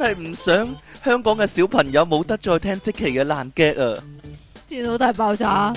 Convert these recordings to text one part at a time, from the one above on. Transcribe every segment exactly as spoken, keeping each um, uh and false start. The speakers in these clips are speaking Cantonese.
係唔想香港嘅小朋友冇得再聽積淇嘅爛 gag 啊！ 電腦大爆炸。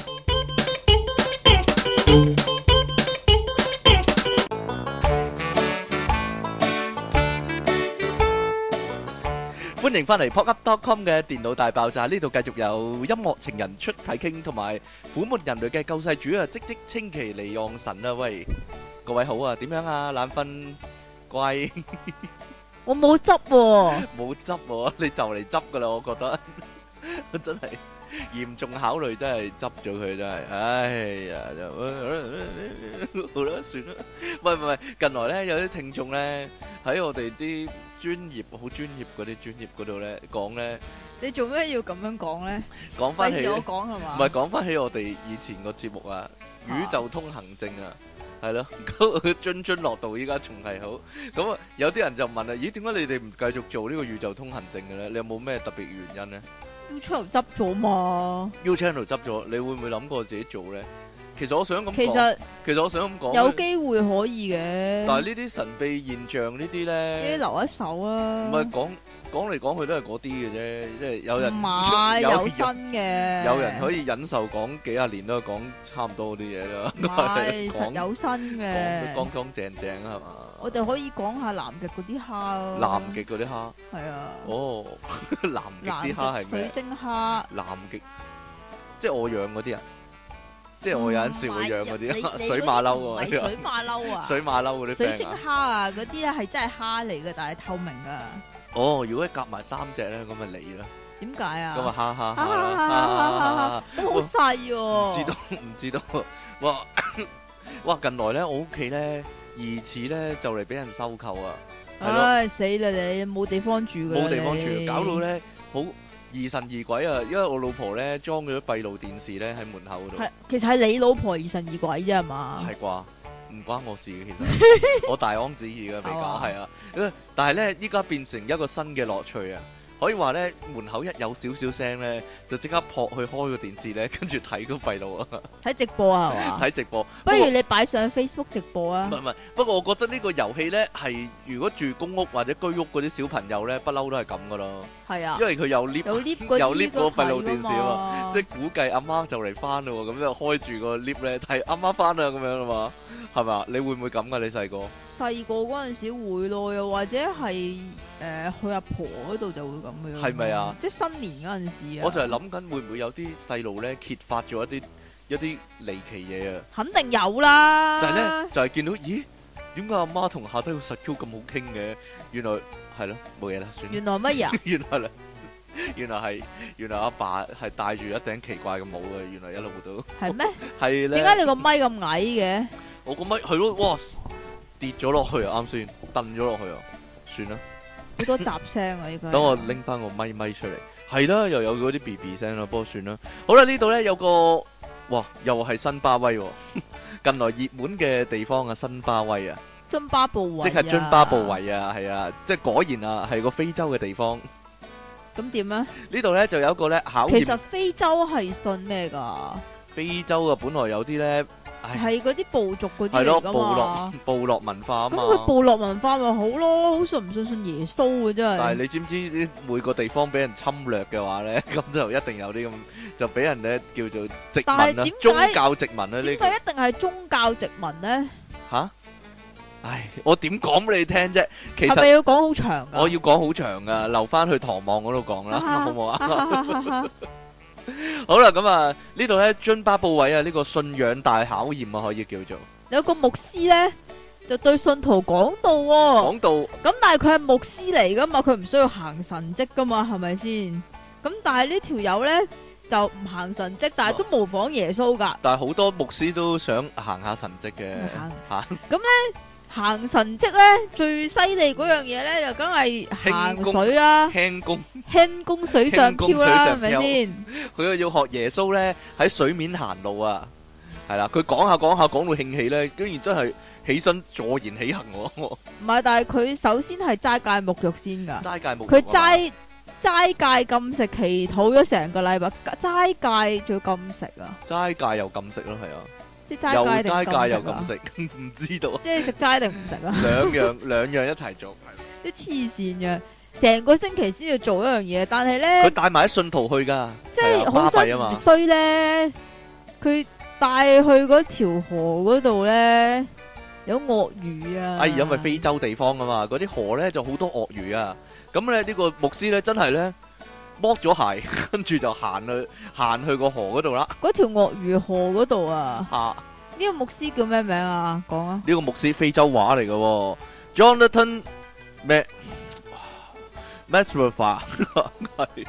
歡迎翻嚟 pop up dot com 嘅電腦大爆炸，呢度繼續有音樂情人出體傾，同埋苦悶人類嘅救世主啊！即即稱其離岸神啊！喂，各位好啊，點樣啊？懶瞓乖， 我冇執喎， 冇執喎，你就嚟執噶啦，我覺得真係嚴重考慮，真係執咗佢，真係，哎呀，就好啦，算啦。喂喂喂，近來咧有啲聽眾咧喺我哋啲專業好專業嗰啲專業嗰度咧講咧， 你做咩要咁樣講咧？ 講翻起， 費事我講係嘛？ 唔係講翻起我哋以前個節目啊，宇宙通行證啊，係咯，津津樂道依家仲係好。咁啊，有啲人就問啦，咦，點解你哋唔繼續做呢個宇宙通行證嘅咧？你有冇咩特別原因咧 ？YouTube 執咗嘛 ？U Channel 執咗，你會唔會諗過自己做咧？其實我想咁講， 其實其實我想咁講， 有機會可以嘅。 但係呢啲神秘現象呢啲咧， 你留一手啊！ 唔係講講嚟講去都係嗰啲嘅啫，即係有人唔係有新嘅， 有人可以忍受講幾廿年都係講差唔多嗰啲嘢啦。 唔係實有新嘅， 講得乾乾淨淨係嘛？ 我哋可以講下南極嗰啲蝦咯。 南極嗰啲蝦係啊。 哦，南極啲蝦係咩？ 水晶蝦。 南極即係我養嗰啲啊！即係我有陣時會養嗰啲水馬騮啊， 唔係水馬騮啊， 水馬騮嗰啲水晶蝦啊，嗰啲咧係真係蝦嚟嘅，但係透明噶。 哦，如果夾埋三隻咧，咁咪你啦。 點解啊？ 咁啊，哈哈哈！ 都好細喎。 唔知道，唔知道。哇哇！近來咧，我屋企咧疑似咧就嚟俾人收購啊。 唉，死啦你！冇地方住㗎啦， 冇地方住，搞到咧好疑神疑鬼啊！因為我老婆咧裝咗閉路電視咧喺門口嗰度。 係，其實係你老婆疑神疑鬼啫係嘛？ 係啩？唔關我事嘅，其實我大安旨意嘅比較係啊。但係咧，依家變成一個新嘅樂趣啊！可以話咧，門口一有少少聲咧，就即刻撲去開個電視咧，跟住睇個閉路啊！ 睇直播啊，係嘛？ 睇直播。 不如你擺上 Facebook 直播啊！ 唔係唔係，不過我覺得呢個遊戲咧係如果住公屋或者居屋嗰啲小朋友咧，不嬲都係咁噶咯。係啊，因為佢有 lift 有 lift 有 lift 嗰個閉路電視啊嘛，即係估計阿媽就嚟翻咯，咁就開住個 lift 咧睇阿媽翻啦咁樣啊嘛，係咪啊？你會唔會咁噶？你細個？細個嗰陣時會咯，又或者係誒、呃、去阿婆嗰度就會咁樣。 係咪啊？ 即係新年嗰陣時啊！ 我就係諗緊會唔會有啲細路咧揭發咗一啲一啲離奇嘢啊！ 肯定有啦！ 就係咧，就係見到咦？點解阿媽同下低個實 Q 咁好傾嘅？原來係咯，冇嘢啦，算。原來乜嘢？原來咧，原來係原來阿爸係戴住一頂奇怪嘅帽嘅，原來一路都係咩？係咧。點解你個咪咁矮嘅？我個咪係咯，哇！跌咗落去啊！啱先，蹬咗落去啊！算啦， 好多雜聲啊！依家等我拎翻個咪咪出嚟，係啦，又有嗰啲 B B 聲啦，不過算啦。好啦，呢度咧有個哇，又係新巴威，近來熱門嘅地方啊，新巴威啊，津巴布韋，即係津巴布韋啊，係啊，即係果然啊，係個非洲嘅地方。咁點咧？呢度咧就有一個咧考驗。其實非洲係信咩噶？非洲啊，本來有啲咧。係嗰啲部族嗰啲嚟噶嘛，部落部落文化啊嘛。咁佢部落文化咪好咯，好信唔信信耶穌嘅真係。但係你知唔知每個地方俾人侵略嘅話咧，咁就一定有啲咁，就俾人咧叫做殖民啦，宗教殖民啦。呢個點解一定係宗教殖民咧？吓，唉，我點講俾你聽啫？其實係咪要講好長噶？我要講好長噶，留翻去唐望嗰度講啦，好唔好啊？好啦，咁啊呢度咧津巴布韋啊，呢個信仰大考驗啊，可以叫做有個牧師咧就對信徒講道，講道咁，但係佢係牧師嚟噶嘛，佢唔需要行神蹟噶嘛，係咪先？咁但係呢條友咧就唔行神蹟，但係都模仿耶穌噶。但係好多牧師都想行下神蹟嘅吓，咁咧。行神蹟咧最犀利嗰樣嘢咧就梗係行水啦，輕功輕功水上漂啦，係咪先？佢又要學耶穌咧喺水面行路啊，係啦，佢講下講下講到興起咧，居然真係起身坐言起行喎。唔係，但係佢首先係齋戒沐浴先噶，齋戒沐浴，佢齋齋戒禁食祈禱咗成個禮拜，齋戒仲要禁食啊？齋戒又禁食咯，係啊。即係齋戒定齋戒又咁食，唔知道。即係食齋定唔食啊？兩樣兩樣一齊做，啲黐線嘅， 成個星期先要做一樣嘢，但係咧佢帶埋啲信徒去噶， 即係好衰唔衰咧？佢帶去嗰條河嗰度咧有鱷魚啊！ 哎，因為非洲地方啊嘛，嗰啲河咧就好多鱷魚啊。咁咧呢個牧師咧真係咧剝咗鞋，跟住就行去行去個河嗰度啦。 嗰條鱷魚河嗰度啊！ 啊， 呢個牧師叫咩名啊？講啊！ 呢個牧師非洲話嚟嘅，Jonathan Mac Matthew 話係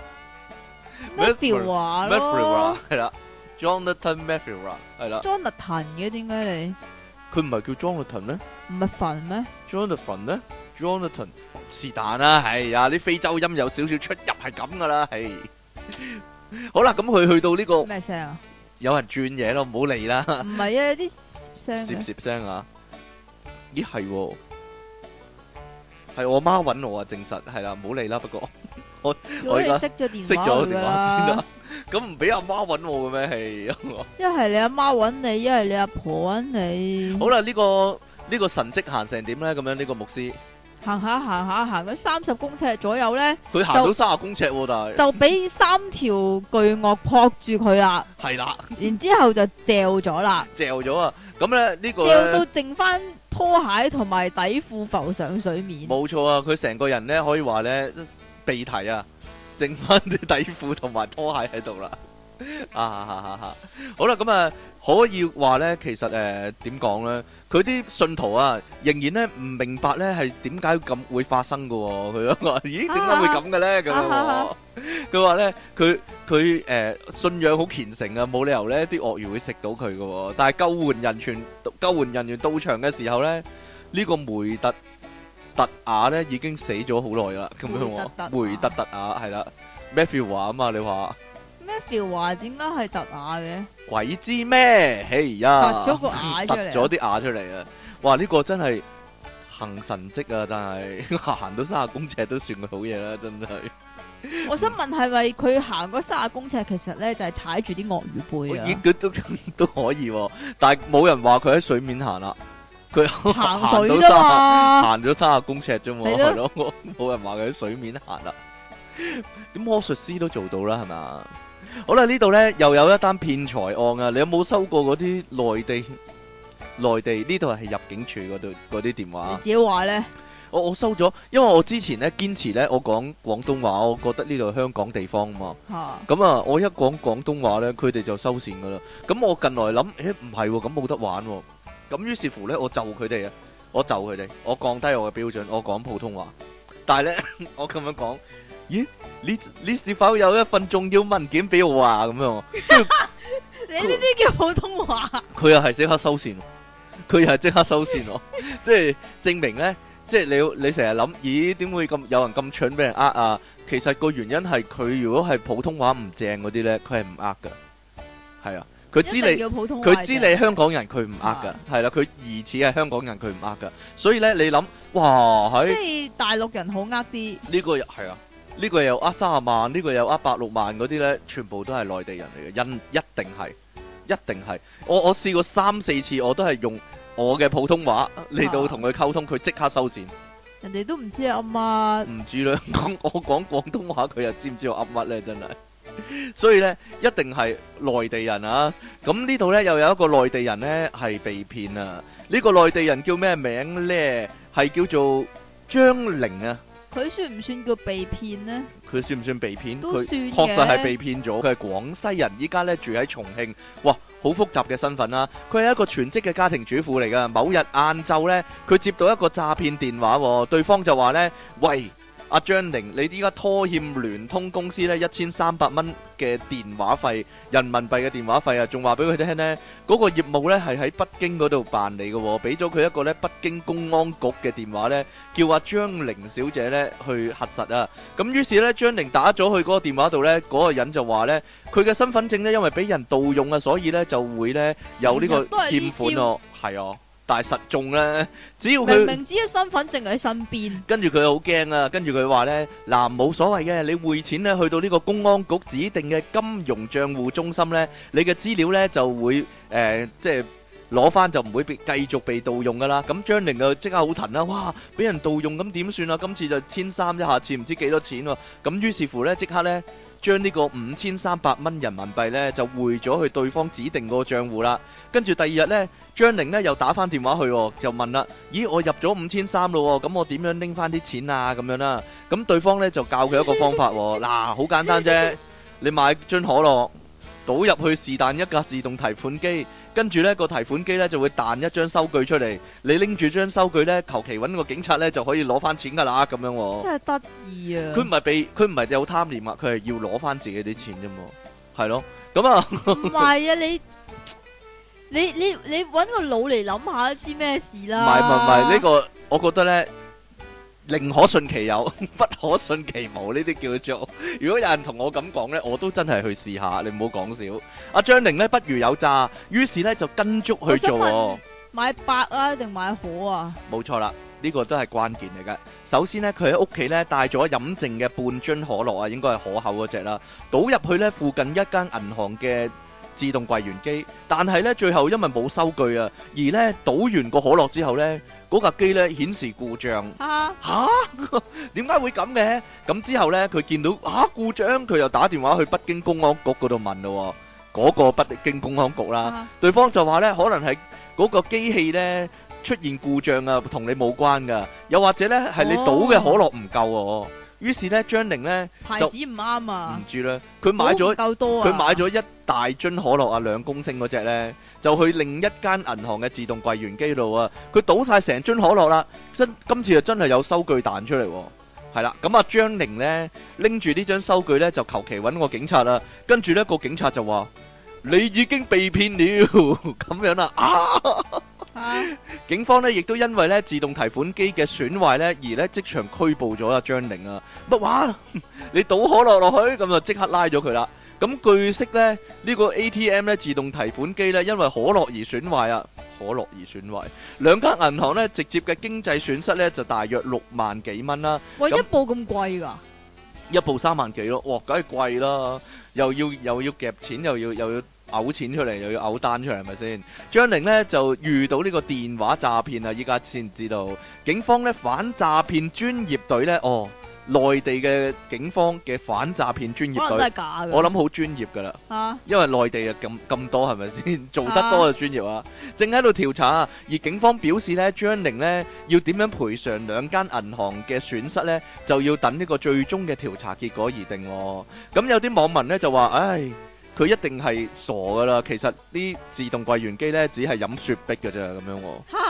Matthew 話咯， 係啦 ，Jonathan Matthew 係啦。 Jonathan 嘅點解你？ 佢唔係叫 Jonathan 咩？ 唔係墳咩 ？Jonathan 咧 ？Jonathan 是但啦，係啊，啲非洲音有少少出入係咁噶啦，係。好啦，咁佢去到呢個咩聲啊？ 有人轉嘢咯，唔好理啦。 唔係啊，有啲聲。 攝攝聲啊！咦係？係我媽搵我啊，證實係啦，唔好理啦。不過我我而家熄咗電熄咗電話先啦。 啦。 咁唔俾阿媽搵我嘅咩？係一係你阿媽搵你，一係你阿婆搵你。 好啦，呢個呢個神蹟行成點咧？咁樣呢個牧師行下行下行咗三十公尺左右咧， 佢行到三十公尺喎，但係就俾三條巨鱷撲住佢啦。 係啦， 然之後就嚼咗啦， 嚼咗啊！咁咧呢個嚼到剩翻拖鞋同埋底褲浮上水面。 冇錯啊！佢成個人咧可以話咧鼻涕啊，剩翻啲底褲同埋拖鞋喺度啦。啊啊啊啊！好啦，咁啊可以話咧，其實誒點講咧？佢啲信徒啊，仍然咧唔明白咧係點解咁會發生噶。佢話：咦，點解會咁嘅咧？咁樣佢話咧，佢佢誒信仰好虔誠啊，冇理由咧啲鱷魚會食到佢噶。但係救援人員救援人員到場嘅時候咧，呢個梅特特雅咧已經死咗好耐啦。咁樣喎，梅特特雅係啦 ，Matthew 話啊嘛，你話。 Matthew 話點解係突牙嘅？ 鬼知咩？哎呀， 突咗個牙出嚟， 突咗啲牙出嚟啊！哇，呢個真係行神蹟啊！但係行到三十公尺都算個好嘢啦，真係。 我想問係咪佢行嗰三十公尺，其實咧就係踩住啲鱷魚背啊？ 佢都都可以，但係冇人話佢喺水面行啦。佢行水啫嘛， 行咗三十公尺啫嘛，係咯，冇人話佢喺水面行啦。點魔術師都做到啦，係咪？好啦，呢度呢又有一單騙財案啊！你有冇收過嗰啲內地內地呢度係入境處嗰度嗰啲電話？ 你自己話呢？ 我我收咗，因為我之前呢堅持呢，我講廣東話，我覺得呢度係香港地方啊嘛。咁啊，我一講廣東話呢，佢哋就收線噶啦。咁我近來諗，誒唔係喎，咁冇得玩喎。咁於是乎呢，我就佢哋啊，我就佢哋，我降低我嘅標準，我講普通話。但係呢，我咁樣講。咦？你你是否有一份重要文件俾我啊？咁樣， 你呢啲叫普通話？ 佢又係即刻收線，佢又係即刻收線喎，即係證明咧，即係你你成日諗，咦？點會咁有人咁蠢俾人呃啊？其實個原因係佢如果係普通話唔正嗰啲咧，佢係唔呃噶，係啊，佢知你佢知你香港人，佢唔呃噶，係啦，佢疑似係香港人，佢唔呃噶，所以咧你諗，哇，係即係大陸人好呃啲， 呢個係啊。呢個又呃三十萬，呢個又呃百六萬嗰啲咧，全部都係內地人嚟嘅，因一定係，一定係。我我試過三四次，我都係用我嘅普通話嚟到同佢溝通，佢即刻收線。 人哋都唔知阿媽， 唔知啦，講我講廣東話，佢又知唔知我噏乜咧？真係。所以咧，一定係內地人啊！咁呢度咧又有一個內地人咧係被騙啊！呢個內地人叫咩名咧？係叫做張玲啊！ 佢算唔算叫被騙呢？ 佢算唔算被騙？ 都算嘅， 佢確實係被騙咗。佢係廣西人，依家咧住喺重慶。哇，好複雜嘅身份啦！佢係一個全職嘅家庭主婦嚟噶。某日晏晝咧，佢接到一個詐騙電話，對方就話咧：喂，阿張玲，你依家拖欠聯通公司咧一千三百蚊嘅電話費，人民幣嘅電話費啊，仲話俾佢聽呢，嗰個業務咧係喺北京嗰度辦理嘅，俾咗佢一個咧北京公安局嘅電話咧，叫阿張玲小姐咧去核實啊。咁於是咧，張玲打咗去嗰個電話度咧，嗰個人就話咧，佢嘅身份證咧因為俾人盜用啊，所以咧就會咧有呢個欠款咯，係啊。但係實中咧，只要佢明明知嘅身份證喺身邊， 跟住佢好驚啊！跟住佢話咧，嗱，冇所謂嘅，你匯錢咧去到呢個公安局指定嘅金融帳戶中心咧，你嘅資料咧就會誒即係攞翻就唔會被繼續被盜用噶啦。咁張玲就即刻好騰啦，哇！俾人盜用咁點算啊？今次就千三，一下次唔知幾多錢喎。咁於是乎呢，即刻呢，將呢個五千三百蚊人民幣呢，就匯咗去對方指定個賬戶啦。跟住第二日呢，張玲呢又打翻電話去，就問啦：咦，我入咗五千三咯，咁我點樣拎翻啲錢啊？咁樣啦。咁對方呢就教佢一個方法，嗱，好簡單啫，你買樽可樂，倒入去是但一格自動提款機。跟住呢個提款機呢就會彈一張收據出嚟，你拎住張收據呢，求其揾個警察呢就可以攞翻錢噶啦，咁樣喎。 真係得意啊！ 佢唔係被，佢唔係有貪念啊，佢係要攞翻自己啲錢啫嘛，係咯。咁啊， 唔係啊，你你你你揾個腦嚟諗下，知咩事啦？ 唔係唔係唔係呢個，我覺得呢。寧可信其有，不可信其無，呢啲叫做。如果有人同我咁講呢，我都真係去試下。你唔好講笑。阿張玲呢，不如有詐，於是呢就跟足去做。 買白啊定買可啊？冇錯啦，呢個都係關鍵嚟㗎。首先呢，佢喺屋企呢帶咗飲剩嘅半樽可樂啊，應該係可口嗰隻啦，倒入去呢附近一間銀行嘅自動櫃員機，但係咧最後因為冇收據啊，而咧倒完個可樂之後咧，嗰架機咧顯示故障。吓吓，點解會咁嘅？咁之後咧，佢見到啊故障，佢又打電話去北京公安局嗰度問咯，嗰個北京公安局啦，對方就話咧可能係嗰個機器咧出現故障啊，同你冇關噶，又或者咧係你倒嘅可樂唔夠。於是咧，張玲咧牌子唔啱啊， 唔知啦，佢買咗佢買咗一大樽可樂啊，兩公升嗰隻咧，就去另一間銀行嘅自動櫃員機度啊，佢倒晒成樽可樂啦，真今次就真係有收據彈出嚟，係啦，咁啊張玲咧拎住呢張收據咧就求其揾個警察啦，跟住咧個警察就話你已經被騙了，咁樣啦，啊！啊、警方咧亦都因為咧自動提款機嘅損壞咧而咧即場拘捕咗阿張玲啊！乜話？你倒可樂落去，咁就即刻拉咗佢啦。咁據悉咧呢、呢個 A T M 咧自動提款機咧因為可樂而損壞啊，可樂而損壞，兩間銀行咧直接嘅經濟損失咧就大約六萬幾蚊啦。 喂，一部咁貴噶？ 一部三萬幾咯，哇，梗係貴啦，又要又要夾錢，又要又要。嘔錢出嚟又要嘔單出嚟，係咪先？張玲呢就遇到呢個電話詐騙啊！依家先知道，警方呢反詐騙專業隊呢，哦，內地嘅警方嘅反詐騙專業隊， 都係假嘅， 我諗好專業噶啦，啊、因為內地啊咁咁多，係咪先？做得多就專業啊！正喺度調查，而警方表示呢，張玲呢要點樣賠償兩間銀行嘅損失呢，就要等呢個最終嘅調查結果而定。咁有啲網民呢就話，唉。佢一定係傻噶啦，其實啲自動櫃員機咧只係飲雪碧嘅啫，咁樣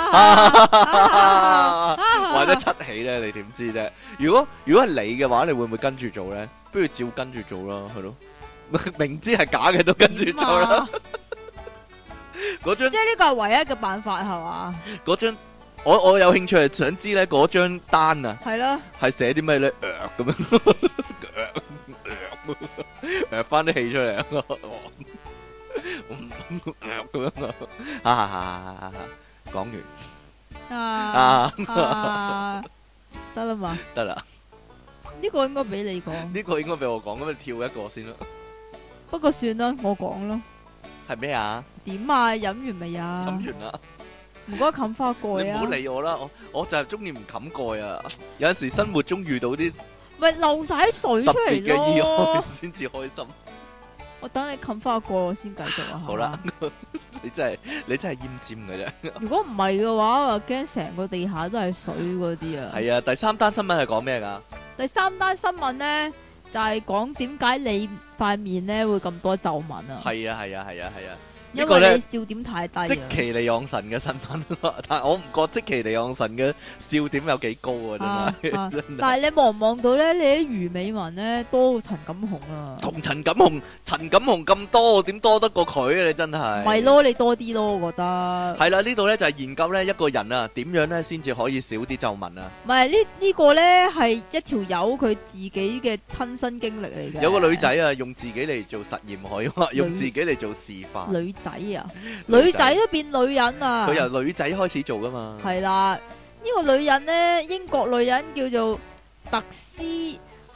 喎，或者七喜咧，你點知啫？如果如果係你嘅話，你會唔會跟住做咧？不如照跟住做啦，係咯，明知係假嘅都跟住做啦。嗰張即係呢個係唯一嘅辦法係嘛？ 嗰張我我有興趣係想知咧，嗰張單啊，係啦， 係寫啲咩咧？咁樣。誒，翻啲氣出嚟啊！咁樣啊，啊，講完啊， 得啦嘛， 得啦。 呢個應該俾你講， 呢個應該俾我講，咁你跳一個先啦。 不過算啦，我講咯。 係咩啊？ 點啊？飲完未啊？ 飲完啦。唔該冚花蓋啊！ 你唔好理我啦，我我就係中意唔冚蓋啊。有陣時生活中遇到啲。 咪漏晒水出嚟嘅意外先至開心。 我等你冚翻個我先繼續啊。 好啦，你真係你真係奄尖嘅啫。 如果唔係嘅話，我驚成個地下都係水嗰啲啊。 係啊，第三單新聞係講咩噶？ 第三單新聞咧就係講點解你塊面咧會咁多皺紋啊？ 係啊係啊係啊係啊。 因為你笑點太低啊！ 積淇離岸神嘅新聞，但係我唔覺積淇離岸神嘅笑點有幾高啊！真係， 啊啊、但係你望唔望到咧？你啲魚尾紋咧多過陳錦鴻啊！ 同陳錦鴻、陳錦鴻咁多，點多得過佢啊？你真係咪咯，你多啲咯，我覺得係啦。呢度咧就係研究咧一個人啊，點樣咧先至可以少啲皺紋啊？ 唔係呢呢個咧係一條友佢自己嘅親身經歷嚟嘅。 有個女仔啊，用自己嚟做實驗可以話，用自己嚟做示範。 女仔啊，女仔都變女人啊！ 佢由女仔開始做噶嘛？ 係啦，呢個女人呢，英國女人叫做特斯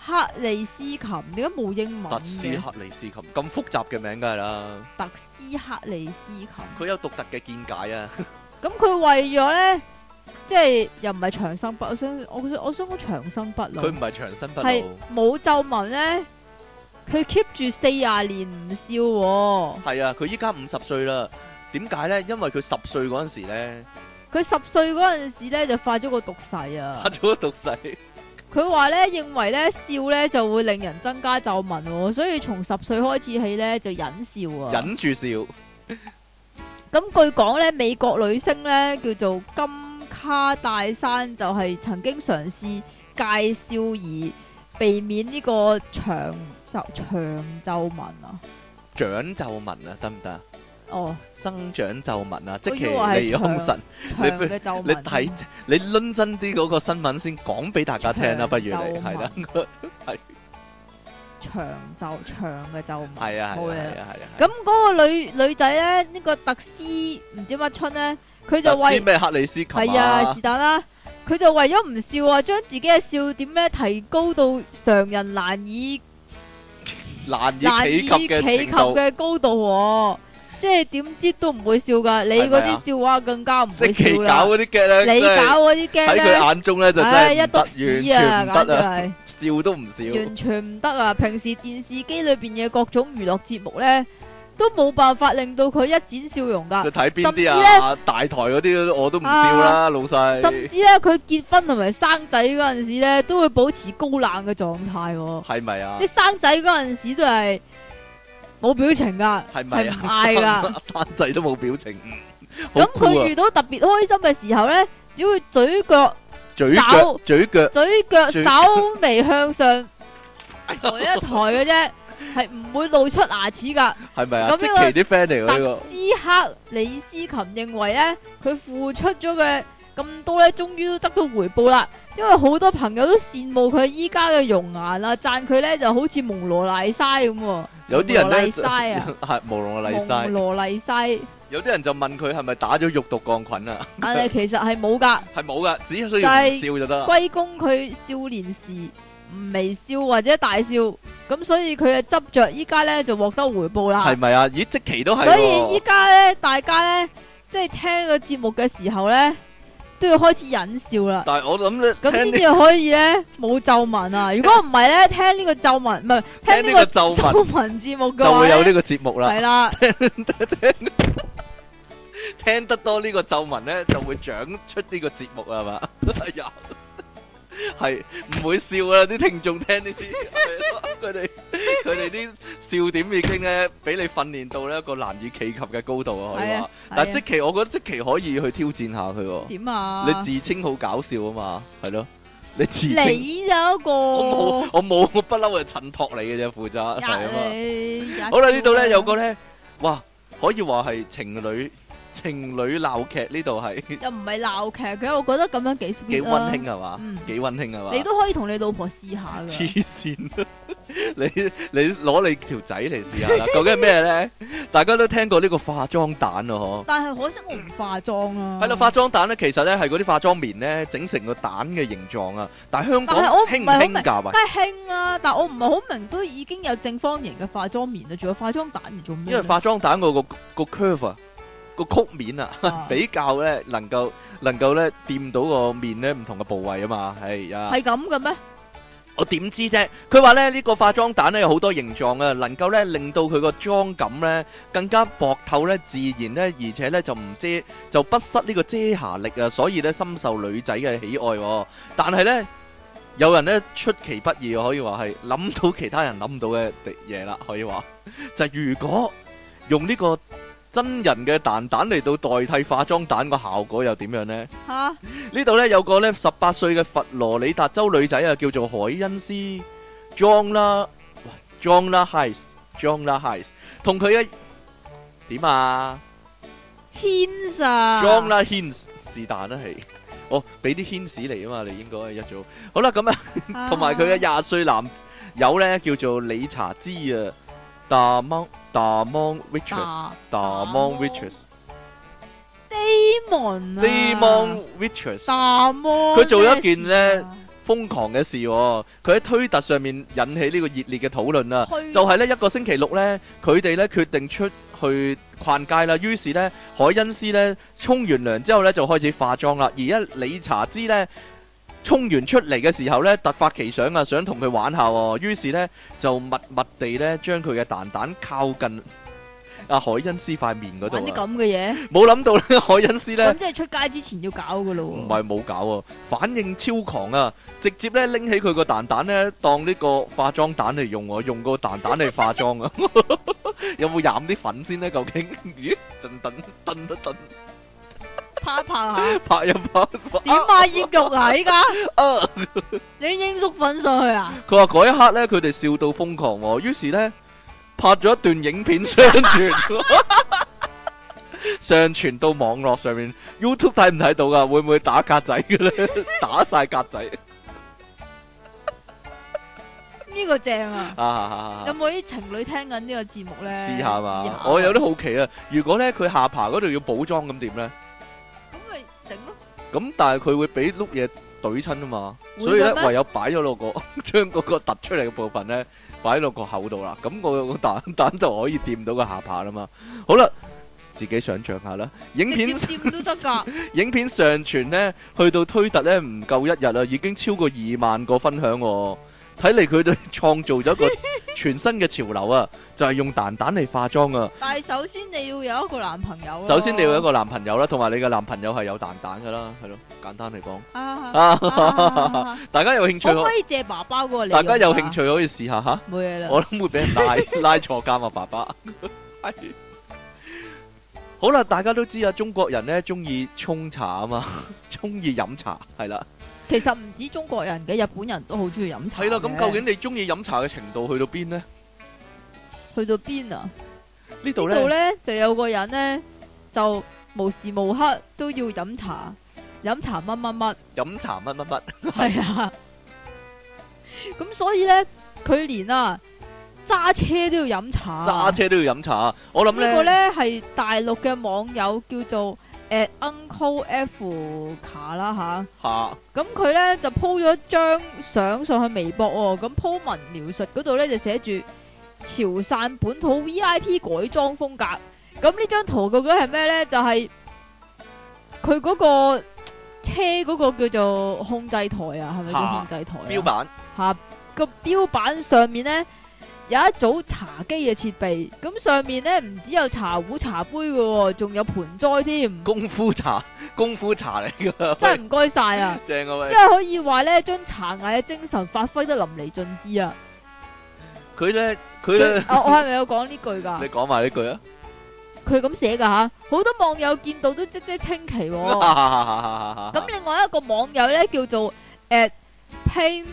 克里斯琴，點解冇英文嘅？ 特斯克里斯琴咁複雜嘅名梗係啦。 特斯克里斯琴， 佢有獨特嘅見解啊。 咁佢為咗咧，即係又唔係長生不，我想我想我想講長生不老。 佢唔係長生不老， 係冇皺紋咧。佢 keep 住四廿年唔笑喎。 係啊，佢依家五十歲啦。點解咧？因為佢十歲嗰陣時咧， 佢十歲嗰陣時咧就發咗個毒誓啊！ 發咗個毒誓。 佢話咧，認為咧笑咧就會令人增加皺紋喎，所以從十歲開始起咧就忍笑啊。 忍住笑。 咁據講咧，美國女星咧叫做金卡戴珊，就係曾經嘗試戒笑而避免呢個長長皺紋啊。 長皺紋啊，得唔得？ 哦， 生長皺紋啊，即其利康神， 你你睇你論真啲嗰個新聞先講俾大家聽啦，不如你係啦，係長皺長嘅皺紋， 係啊， 冇嘢啦， 係啊，係啊。 咁嗰個女女仔咧，呢個特斯唔知乜春咧，佢就為咩克里斯琴係啊是但啦，佢就為咗唔笑啊，將自己嘅笑點咧提高到常人難以難以企及嘅高度。即係點知都唔會笑噶，你嗰啲笑話更加唔會笑啦。 搞嗰啲 gag 咧， 你搞嗰啲 gag 咧， 喺佢眼中咧就真係一篤屎啊，簡直係笑都唔笑， 完全唔得啊！平時電視機裏邊嘅各種娛樂節目咧，都冇辦法令到佢一展笑容噶。 佢睇邊啲啊？大台嗰啲我都唔笑啦，老細。 甚至咧，佢結婚同埋生仔嗰陣時咧，都會保持高冷嘅狀態。 係咪啊？ 即係生仔嗰陣時都係。冇表情噶， 係咪啊？ 唔嗌噶， 生仔都冇表情。 咁佢遇到特別開心嘅時候咧，只會嘴腳、 嘴腳、嘴腳、 嘴腳稍微向上抬一抬嘅啫，係唔會露出牙齒噶。 係咪啊？咁呢個啲 friend 嚟嘅呢個。 特斯克里斯琴認為咧，佢付出咗嘅咁多咧，終於都得到回報啦。因為好多朋友都羨慕佢依家嘅容顏啦，讚佢咧就好似蒙羅麗莎咁。 有啲人咧係蒙羅麗莎， 蒙羅麗莎。 有啲人就問佢係咪打咗肉毒桿菌啊？ 但係其實係冇噶， 係冇噶，只需要唔笑就得。 歸功佢少年時唔微笑或者大笑，咁所以佢嘅執着依家咧就獲得回報啦。 係咪啊？咦，即期都係。 所以依家咧，大家咧即係聽個節目嘅時候咧，都要開始忍笑啦。 但係我諗咧， 咁先至可以咧冇皺紋啊！如果唔係咧，聽呢個皺紋唔係聽呢個皺紋節目嘅話， 就會有呢個節目啦。 係啦， 聽得多呢個皺紋咧，就會長出呢個節目啦嘛。哎呀，係唔會笑啦！啲聽眾聽呢啲，佢哋佢哋啲笑點已經咧俾你訓練到咧一個難以企及嘅高度啊！可以話，但係即期我覺得即期可以去挑戰下佢。點啊？你自稱好搞笑啊嘛，係咯？你自稱你有一個， 我冇，我冇，我不嬲係襯托你嘅啫，負責係啊嘛。好啦，呢度咧有個咧，哇，可以話係情侶。情侶鬧劇呢度係又唔係鬧劇嘅，我覺得咁樣幾 sweet 幾溫馨係嘛， 嗯、 幾溫馨係嘛。 你都可以同你老婆試下噶。 黐線，你你攞你條仔嚟試下啦。究竟係咩咧？大家都聽過呢個化妝蛋啊，嗬。 但係可惜我唔化妝啊。 係咯，化妝蛋咧，其實咧係嗰啲化妝棉咧整成個蛋嘅形狀啊。但係香港興唔興㗎？喂， 梗係興啊！但係我唔係好明，都已經有正方形嘅化妝棉啦，仲有化妝蛋嚟做咩？ 因為化妝蛋嗰個個 curve 啊。個曲面啊，啊比較咧能夠能夠咧掂到個面咧唔同嘅部位啊嘛，係啊， 係咁嘅咩？ 我點知啫？佢話咧呢個化妝蛋咧有好多形狀啊，能夠咧令到佢個妝感咧更加薄透咧、自然咧，而且咧就唔遮就不失呢個遮瑕力啊，所以咧深受女仔嘅喜愛。但係咧有人咧出其不意，可以話係諗到其他人諗唔到嘅嘢啦，可以話就係如果用呢個真人嘅蛋蛋嚟到代替化妝蛋個效果又點樣呢？吓、啊、呢度呢有個呢十八歲嘅佛羅里達州女仔啊，叫做海恩斯 Jonna Jonna Hayes Jonna Hayes 同佢嘅點啊 Hints 啊 Jonna Hints 是但啦係，哦俾啲 Hints 嚟啊嘛，你應該一早好啦咁啊，同埋佢嘅廿歲男友呢叫做理查茲啊。Damon Damon Witches，Damon Witches，Damon 啊 Damon Witches， Damon 佢做咗一件咧瘋狂嘅事、喎，佢喺推特上面引起呢個熱烈嘅討論啊！ 去就係呢一個星期六呢，佢哋呢決定出去逛街啦。於是呢，海恩斯呢沖完涼之後呢，就開始化妝啦。而一理查茲呢，沖完出嚟嘅時候呢，突發奇想啊，想同佢玩下、喎。於是呢，就默默地呢將佢嘅蛋蛋靠近阿海恩斯塊面嗰度， 玩啲咁嘅嘢， 冇諗到咧，海恩斯咧， 咁即係出街之前要搞噶咯。 唔係冇搞啊，反應超狂啊！直接咧拎起佢個蛋蛋咧，當呢個化妝蛋嚟用啊，用個蛋蛋嚟化妝啊！有冇染啲粉先咧？究竟？咦，震震震一震， 拍一拍下， 拍一拍， 點啊？醃肉啊！依家，你鷹粟粉上去啊？ 佢話嗰一刻咧，佢哋笑到瘋狂喎，於是咧。拍咗一段影片上傳，上傳到網絡上面 ，YouTube 睇唔睇到噶？會唔會打格仔嘅咧？打晒格仔， 呢個正啊！ 啊啊啊有冇啲情侶聽緊呢個節目咧？ 試下嘛！我有啲好奇啊！如果咧佢下巴嗰度要補妝咁點咧？ 咁咪整咯。 咁但係佢會俾碌嘢懟親啊嘛，所以咧唯有擺咗落個將嗰個突出嚟嘅部分咧。擺落個口度啦，咁我個蛋蛋就可以掂到個下巴啦嘛。好啦，自己想象下啦。影片掂都得噶。 影片上傳呢，去到推特呢，唔夠一日啦，已經超過二萬個分享喎。睇嚟佢哋創造咗一個全新嘅潮流啊！就係用蛋蛋嚟化妝啊！ 但係首先你要有一個男朋友。 首先你要有一個男朋友啦，同埋你嘅男朋友係有蛋蛋噶啦，係咯，簡單嚟講。 啊！ 大家有興趣可唔可以借爸爸嗰個嚟？ 大家有興趣可以試下吓。 冇嘢啦。 我諗會俾人拉拉坐監啊，爸爸。係。好啦，大家都知啊，中國人咧中意沖茶啊嘛，中意飲茶係啦。 其實唔止中國人嘅，日本人都好中意飲茶。 係啦，咁究竟你中意飲茶嘅程度去到邊呢？ 去到邊啊？ 呢度咧， 呢度咧就有個人咧，就無時無刻都要飲茶，飲茶乜乜乜， 飲茶乜乜乜， 係啊。咁所以咧，佢連啊揸車都要飲茶， 揸車都要飲茶。我諗咧呢個咧係大陸嘅網友叫做。誒 Uncle F 卡啦吓， 吓咁佢咧就 po 咗張相上去微博喎，咁 po 文描述嗰度咧就寫住潮汕本土 V I P 改裝風格，咁呢張圖究竟係咩咧？就係佢嗰個車嗰個叫做控制台啊，係咪叫控制台？ 標板吓個標板上面咧。有一組茶几嘅設備，咁上面咧唔只有茶壺、茶杯嘅，仲有盆栽添。 功夫茶，功夫茶嚟噶， 真係唔該晒啊！ 正啊喂！ 即係可以話咧，將茶藝嘅精神發揮得淋漓盡致啊！ 佢咧，佢咧， 我我係咪有講呢句噶？ 你講埋呢句啊！ 佢咁寫噶吓，好多網友見到都嘖嘖稱奇。咁另外一個網友咧叫做誒 Pain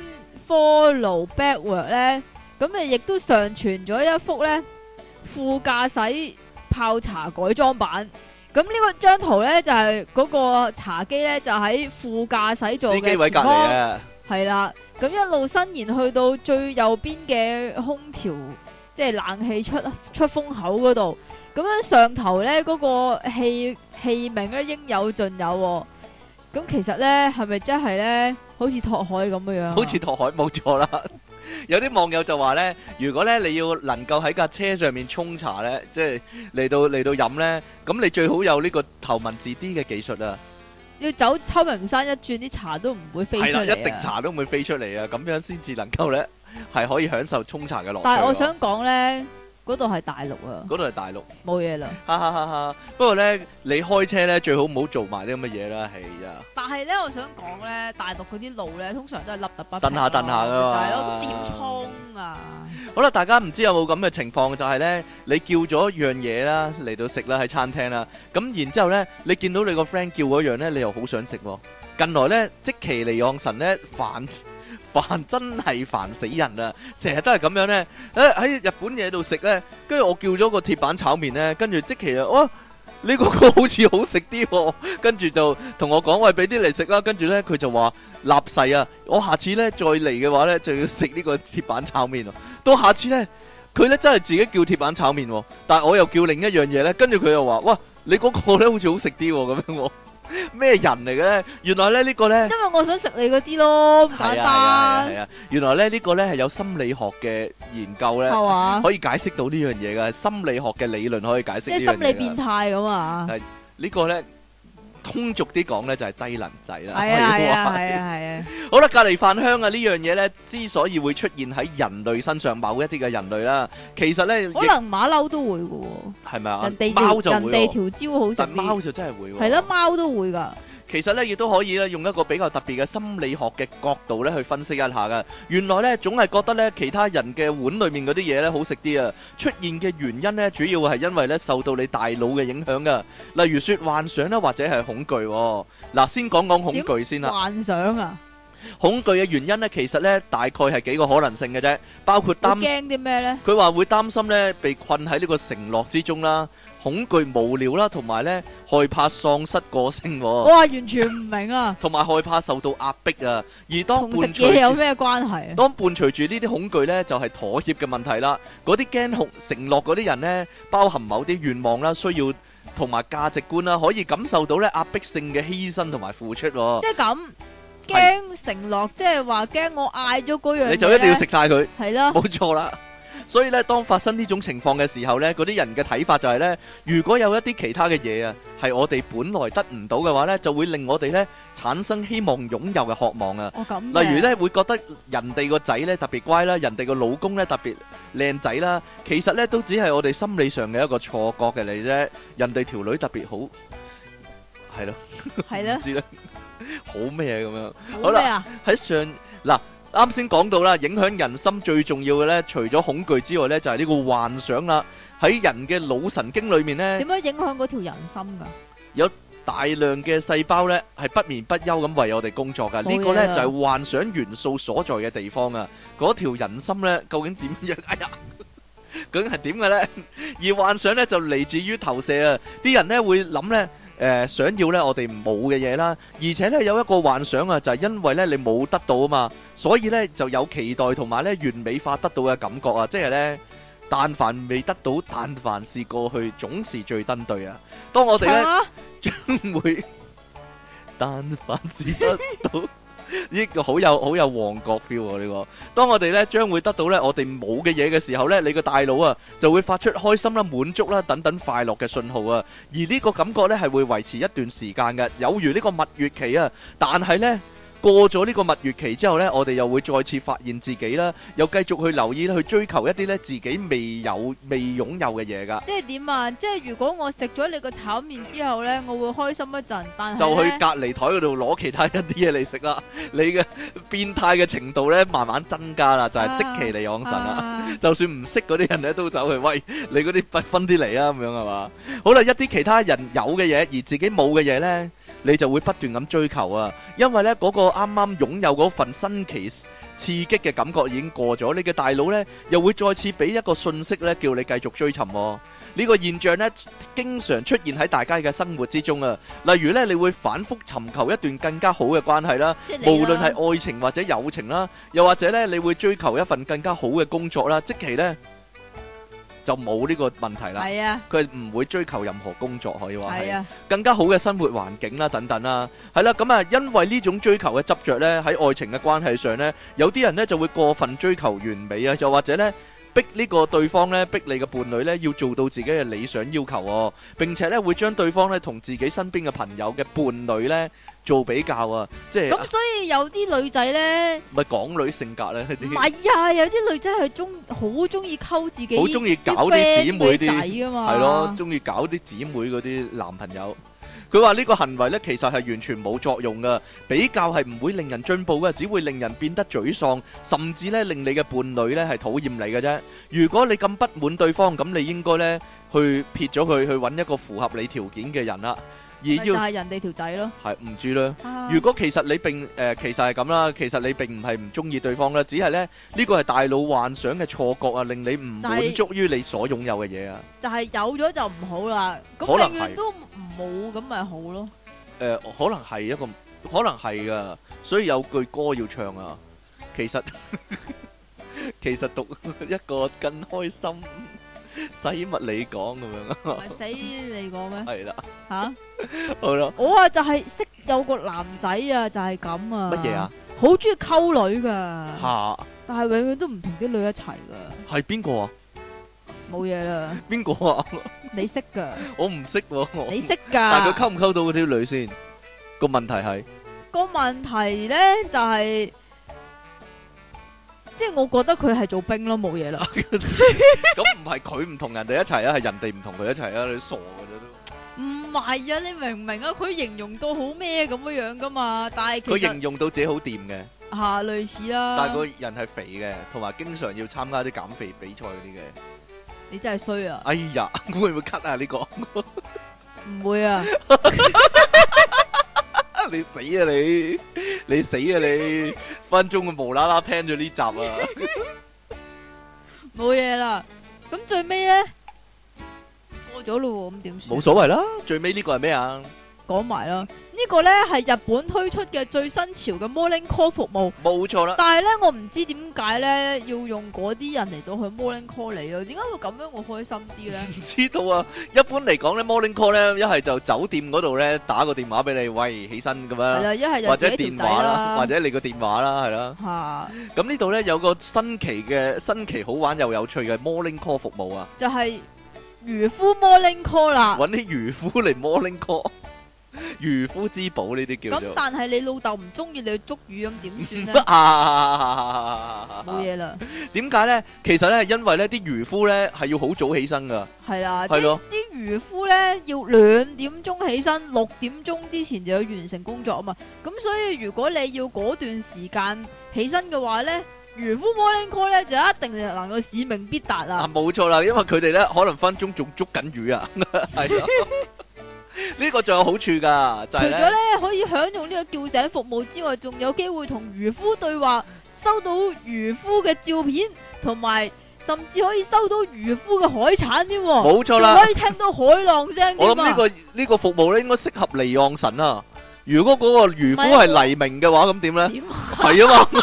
Follow Backward 咧。咁誒，亦都上傳咗一幅咧副駕駛泡茶改裝版。咁呢個張圖咧就係、是、嗰個茶几咧就喺副駕駛座嘅前方，係啦。咁一路伸延去到最右邊嘅空調，即係冷氣出出風口嗰度。咁樣上頭咧嗰、那個器器皿咧應有盡有、哦。咁其實咧係咪真係咧好似拓海咁嘅樣、啊？ 好似拓海冇錯啦。有啲網友就話咧，如果咧你要能夠喺架車上面沖茶咧，即係嚟到嚟到飲咧，咁你最好有呢個頭文字 D 嘅技術啊！ 要走秋名山一轉，啲茶都唔會飛出嚟啊！ 係啦，一滴茶都唔會飛出嚟啊！咁樣先至能夠咧係可以享受沖茶嘅樂趣。 但係我想講咧。嗰度係大陸啊！ 嗰度係大陸， 冇嘢啦。 哈哈哈哈！不過咧，你開車咧最好唔好做埋啲咁嘅嘢啦，係啊。 但係咧，我想講咧，大陸嗰啲路咧，通常都係凹凸不平， 蹬下蹬下噶嘛。 就係咯，咁點沖啊？ 好啦，大家唔知有冇咁嘅情況，就係咧，你叫咗樣嘢啦嚟到食啦喺餐廳啦，咁然之後咧，你見到你個 friend 叫嗰樣咧，你又好想食喎。近來咧，積淇離岸神咧煩。煩真係煩死人啊！成日都係咁樣咧，誒喺日本嘢度食咧，跟住我叫咗個鐵板炒麵咧，跟住即其啊，哇！呢個個好似好食啲，跟住就同我講喂，俾啲嚟食啦。跟住咧佢就話立誓啊，我下次咧再嚟嘅話咧就要食呢個鐵板炒麵。到下次咧，佢咧真係自己叫鐵板炒麵，但係我又叫另一樣嘢咧，跟住佢又話，哇！你嗰個咧好似好食啲咁樣。 咩人嚟嘅咧？原來咧呢個咧， 因為我想食你嗰啲咯，咁簡係啊係啊單。 係啊，原來咧呢個咧係有心理學嘅研究咧， 係嘛？ 可以解釋到呢樣嘢噶，心理學嘅理論可以解釋即呢樣嘢㗎。 係心理變態咁啊！ 呢個咧通俗啲講咧就係低能仔啦。 係啊係啊可以話係啊係啊！ 好啦，隔離飯香啊呢樣嘢咧，之所以會出現喺人類身上，某一啲嘅人類啦，其實咧可能馬騮都會嘅喎。 係咪啊？ 人哋貓就會喎， 人哋條蕉好食但貓啲。 就真係會喎。 係咯，貓都會㗎。 其實咧，亦都可以咧，用一個比較特別嘅心理學嘅角度咧，去分析一下噶。原來咧，總係覺得咧，其他人嘅碗裡面嗰啲嘢咧好食啲啊。出現嘅原因咧，主要係因為咧受到你大腦嘅影響噶。例如說幻想啦，或者係恐懼。嗱，先講講恐懼先啦。 幻想啊！ 恐懼嘅原因咧，其實咧大概係幾個可能性嘅啫，包括擔驚啲咩咧？ 佢話會擔心咧被困喺呢個承諾之中啦。恐懼無聊啦，同埋咧害怕喪失個性， 我話完全唔明啊！ 同埋害怕受到壓迫啊，而當同食伴隨嘢有咩關係啊？ 當伴隨住呢啲恐懼咧，就係妥協嘅問題啦。嗰啲驚恐承諾嗰啲人咧，包含某啲願望啦、需要同埋價值觀啦，可以感受到咧壓迫性嘅犧牲同埋付出。即係咁驚承諾，即係話驚我嗌咗嗰樣嘢， 你就一定要食晒佢， 係啦， 冇錯啦。所以咧，當發生呢種情況嘅時候咧，嗰啲人嘅睇法就係咧，如果有一啲其他嘅嘢啊，係我哋本來得唔到嘅話咧，就會令我哋咧產生希望擁有嘅渴望啊。 哦，咁。 例如咧，會覺得人哋個仔咧特別乖啦，人哋個老公咧特別靚仔啦，其實咧都只係我哋心理上嘅一個錯覺嘅嚟啫。人哋條女特別好，係咯， 係咯， 唔知咧，好咩咁樣？ 好咩啊？ 喺上嗱。啱先講到啦，影響人心最重要嘅咧，除咗恐懼之外咧，就係呢個幻想啦。喺人嘅腦神經裏面咧， 點樣影響嗰條人心噶？ 有大量嘅細胞咧，係不眠不休咁為我哋工作噶。呢個咧就係幻想元素所在嘅地方啊。嗰條人心咧，究竟點樣？哎呀，究竟係點嘅咧？而幻想咧就嚟自於投射啊。啲人咧會諗咧。誒、呃、想要咧我哋冇嘅嘢啦，而且咧有一個幻想啊，就係、是、因為咧你冇得到啊嘛，所以咧就有期待同埋咧完美化得到嘅感覺啊，即係咧但凡未得到，但凡是過去，總是最登對啊。當我哋咧將會，但凡是得到。呢個好有好有旺角 feel 喎！呢個，當我哋咧將會得到咧我哋冇嘅嘢嘅時候咧，你個大腦啊就會發出開心啦、滿足啦等等快樂嘅信號啊，而呢個感覺咧係會維持一段時間嘅，有如呢個蜜月期啊。但係咧過咗呢個蜜月期之後咧，我哋又會再次發現自己啦，又繼續去留意去追求一啲咧自己未有未擁有嘅嘢噶。 即係點啊？即係如果我食咗你個炒麵之後咧，我會開心一陣，但係就去隔離台嗰度攞其他一啲嘢嚟食啦。你嘅變態嘅程度咧慢慢增加啦，就係積淇離岸神啦。啊、就算唔識嗰啲人咧，都走去喂你嗰啲不分啲嚟啊，咁樣係嘛？好啦，一啲其他人有嘅嘢而自己冇嘅嘢咧，你就會不斷咁追求啊，因為咧嗰個啱啱擁有嗰份新奇刺激嘅感覺已經過咗，你嘅大腦咧又會再次俾一個訊息咧，叫你繼續追尋。呢個現象咧，經常出現喺大家嘅生活之中啊。例如咧，你會反覆尋求一段更加好嘅關係啦，無論係愛情或者友情啦，又或者咧，你會追求一份更加好嘅工作啦，即其咧。就冇呢個問題啦，係啊，佢唔會追求任何工作，可以話係啊，更加好嘅生活環境啦，等等啦，係啦，咁啊，因為呢種追求嘅執着咧，喺愛情嘅關係上咧，有啲人咧就會過分追求完美啊，又或者咧逼呢個對方咧，逼你嘅伴侶咧，要做到自己嘅理想要求喎，並且咧會將對方咧同自己身邊嘅朋友嘅伴侶咧做比較啊，即係咁，所以有啲女仔咧， 咪港女性格咧， 唔係啊，有啲女仔係中好中意溝自己， 好中意搞啲姊妹啲仔啊嘛， 係咯，中意搞啲姊妹嗰啲男朋友。佢話呢個行為咧，其實係完全冇作用噶，比較係唔會令人進步嘅，只會令人變得沮喪，甚至咧令你嘅伴侶咧係討厭你嘅啫。如果你咁不滿對方，咁你應該咧去撇咗佢，去揾一個符合你條件嘅人啦。而要就係人哋條仔咯， 係唔知啦。如果其實你並誒其實係咁啦，其實你並唔係唔中意對方啦，只係咧呢個係大腦幻想嘅錯覺啊，令你唔滿足於你所擁有嘅嘢啊。 就係有咗就唔好啦，咁永遠都冇咁咪好咯。 誒，可能係一個，可能係噶，所以有句歌要唱啊。其實其實讀一個更開心。 使乜你講咁樣啊？ 唔係死你講咩？ 係啦， 吓， 好啦， 我啊就係識有個男仔啊，就係咁啊。 乜嘢啊？ 好中意溝女噶， 吓， 但係永遠都唔同啲女一齊噶。 係邊個啊？ 冇嘢啦， 邊個啊？ 你識噶， 我唔識喎，我你識但係佢噶。 溝唔溝到嗰啲女先？個問題係個問題咧就係，即係我覺得佢係做兵咯，冇嘢啦。 咁唔係佢唔同人哋一齊啊，係人哋唔同佢一齊啊！你傻噶啫都。 唔係啊，你明唔明啊？佢形容到好咩咁樣樣噶嘛，但係其佢形實容到自己好掂嘅， 吓類似啦。 但係個人係肥嘅，同埋經常要參加啲減肥比賽嗰啲嘅。 你真係衰啊！ 哎呀，會唔會 cut 啊？呢個唔會啊！ 你死啊你！你死啊你！分鐘佢無啦啦聽咗呢集啊！ 冇嘢啦。咁最尾咧過咗咯，咁點算？ 冇所謂啦，最尾呢個係咩啊？ 講埋啦，呢個呢係日本推出嘅最新潮嘅 morning call 服務， 冇錯啦。 但係呢，我唔知點解呢要用嗰啲人嚟到去 morning call 你啊？點解會咁樣我開心啲呢？ 唔知道啊！一般嚟講咧，morning call 咧，一係就酒店嗰度咧打個電話俾你，喂，起身咁樣， 係啦，一係就或者自己條仔電話啦， 啦， 或者你個電話啦，係啦。 吓， 咁呢度咧有個新奇嘅新奇好玩又有趣嘅 morning call 服務啊！ 就係漁夫 morning call 啦。 揾啲漁夫嚟 morning call。漁夫之寶呢啲叫做， 咁但係你老豆唔中意你去捉魚，咁點算呢？冇嘢啦。 點解咧？其實咧，因為咧啲漁夫咧係要好早起身噶， 係啦， 係咯， 啲漁夫咧要兩點鐘起身，六點鐘之前就要完成工作啊嘛。咁所以如果你要嗰段時間起身嘅話咧，漁夫 morning call 咧就一定能夠使命必達啦。 啊，冇錯啦，因為佢哋咧可能分鐘仲捉緊魚啊，係咯。呢個仲有好處噶，就係咧，除咗咧可以享用呢個叫醒服務之外，仲有機會同漁夫對話，收到漁夫嘅照片，同埋甚至可以收到漁夫嘅海產添。冇錯啦，仲可以聽到海浪聲。 我諗呢個呢個服務咧應該適合離岸神啊。如果嗰個漁夫係黎明嘅話，咁點咧？係啊嘛。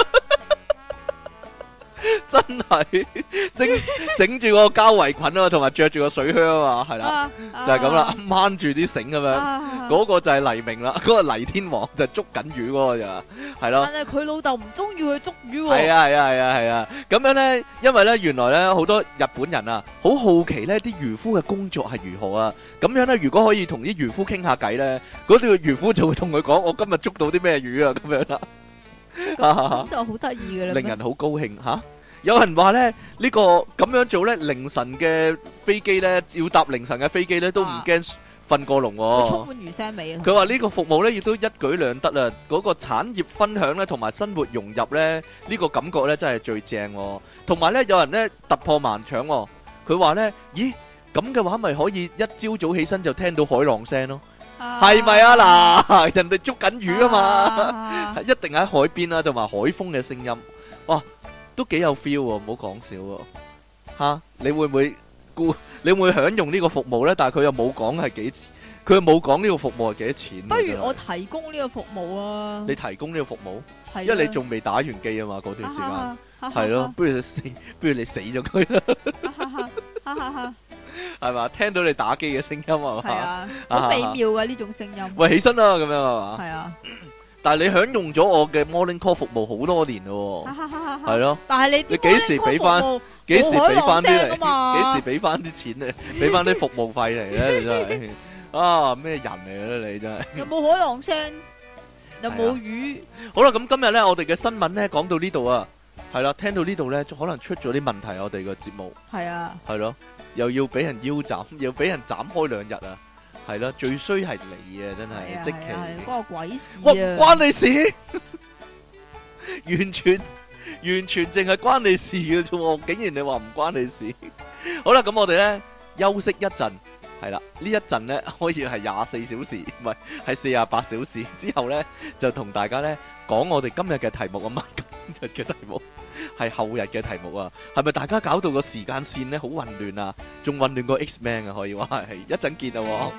真係整整住個膠圍裙啊，同埋着住個水靴啊嘛，係啦，就係咁啦，掹住啲繩咁樣，嗰個就係黎明啦，嗰個黎天王就捉緊魚嗰個就係咯。但係佢老豆唔中意去捉魚。係啊係啊係啊係啊，咁樣咧，因為咧原來咧好多日本人啊，好好奇咧啲漁夫嘅工作係如何啊，咁樣咧如果可以同啲漁夫傾下偈咧，嗰條漁夫就會同佢講我今日捉到啲咩魚啊，咁樣啦。咁就好得意嘅啦，令人好高興吓。有人話咧呢個咁樣做咧，凌晨嘅飛機咧要搭凌晨嘅飛機咧都唔驚瞓過籠喎。充滿魚腥味啊！佢話呢個服務咧亦都一舉兩得啊！嗰個產業分享咧同埋生活融入咧呢個感覺咧真係最正。同埋咧有人咧突破盲腸，佢話咧咦咁嘅話咪可以一朝早起身就聽到海浪聲咯。係咪啊？嗱，人哋捉緊魚啊嘛，一定喺海邊啊，同埋海風嘅聲音，哇，都幾有 feel 喎，唔好講笑喎。吓，你會唔會顧？你會唔會享用呢個服務咧？但係佢又冇講係幾，佢又冇講呢個服務係幾多錢。不如我提供呢個服務啊！你提供呢個服務，因為你仲未打完機啊嘛，嗰段時間係咯，不如死，不如你死咗佢啦。係嘛？聽到你打機嘅聲音啊，係啊，好美妙嘅呢種聲音。喂，起身啦，咁樣係嘛？係啊。但係你享用咗我嘅 morning call 服務好多年咯，係咯。但係你你幾時俾翻？幾時俾翻啲嚟？幾時俾翻啲錢咧？俾翻啲服務費嚟咧？你真係啊咩人嚟咧？你真係。有冇海浪聲？有冇魚？好啦，咁今日咧，我哋嘅新聞咧講到呢度啊。係啦，聽到呢度咧，可能出咗啲問題，我哋個節目係啊，係咯，又要俾人腰斬，又俾人斬開兩日啊，係咯，最衰係你啊，真係即其關我鬼事啊，哇，關你事，完全完全淨係關你事嘅啫，竟然你話唔關你事，好啦，咁我哋咧休息一陣，係啦，呢一陣咧可以係廿四小時，唔係係四十八小時之後咧，就同大家咧講我哋今日嘅題目啊嘛。日嘅題目係後日嘅題目啊，係咪大家搞到個時間線咧好混亂啊？仲混亂過 X-Men 啊，可以話係一陣見啊！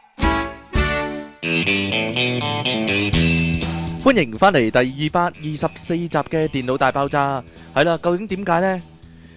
歡迎翻嚟第二百二十四集嘅電腦大爆炸，係啦，究竟點解咧？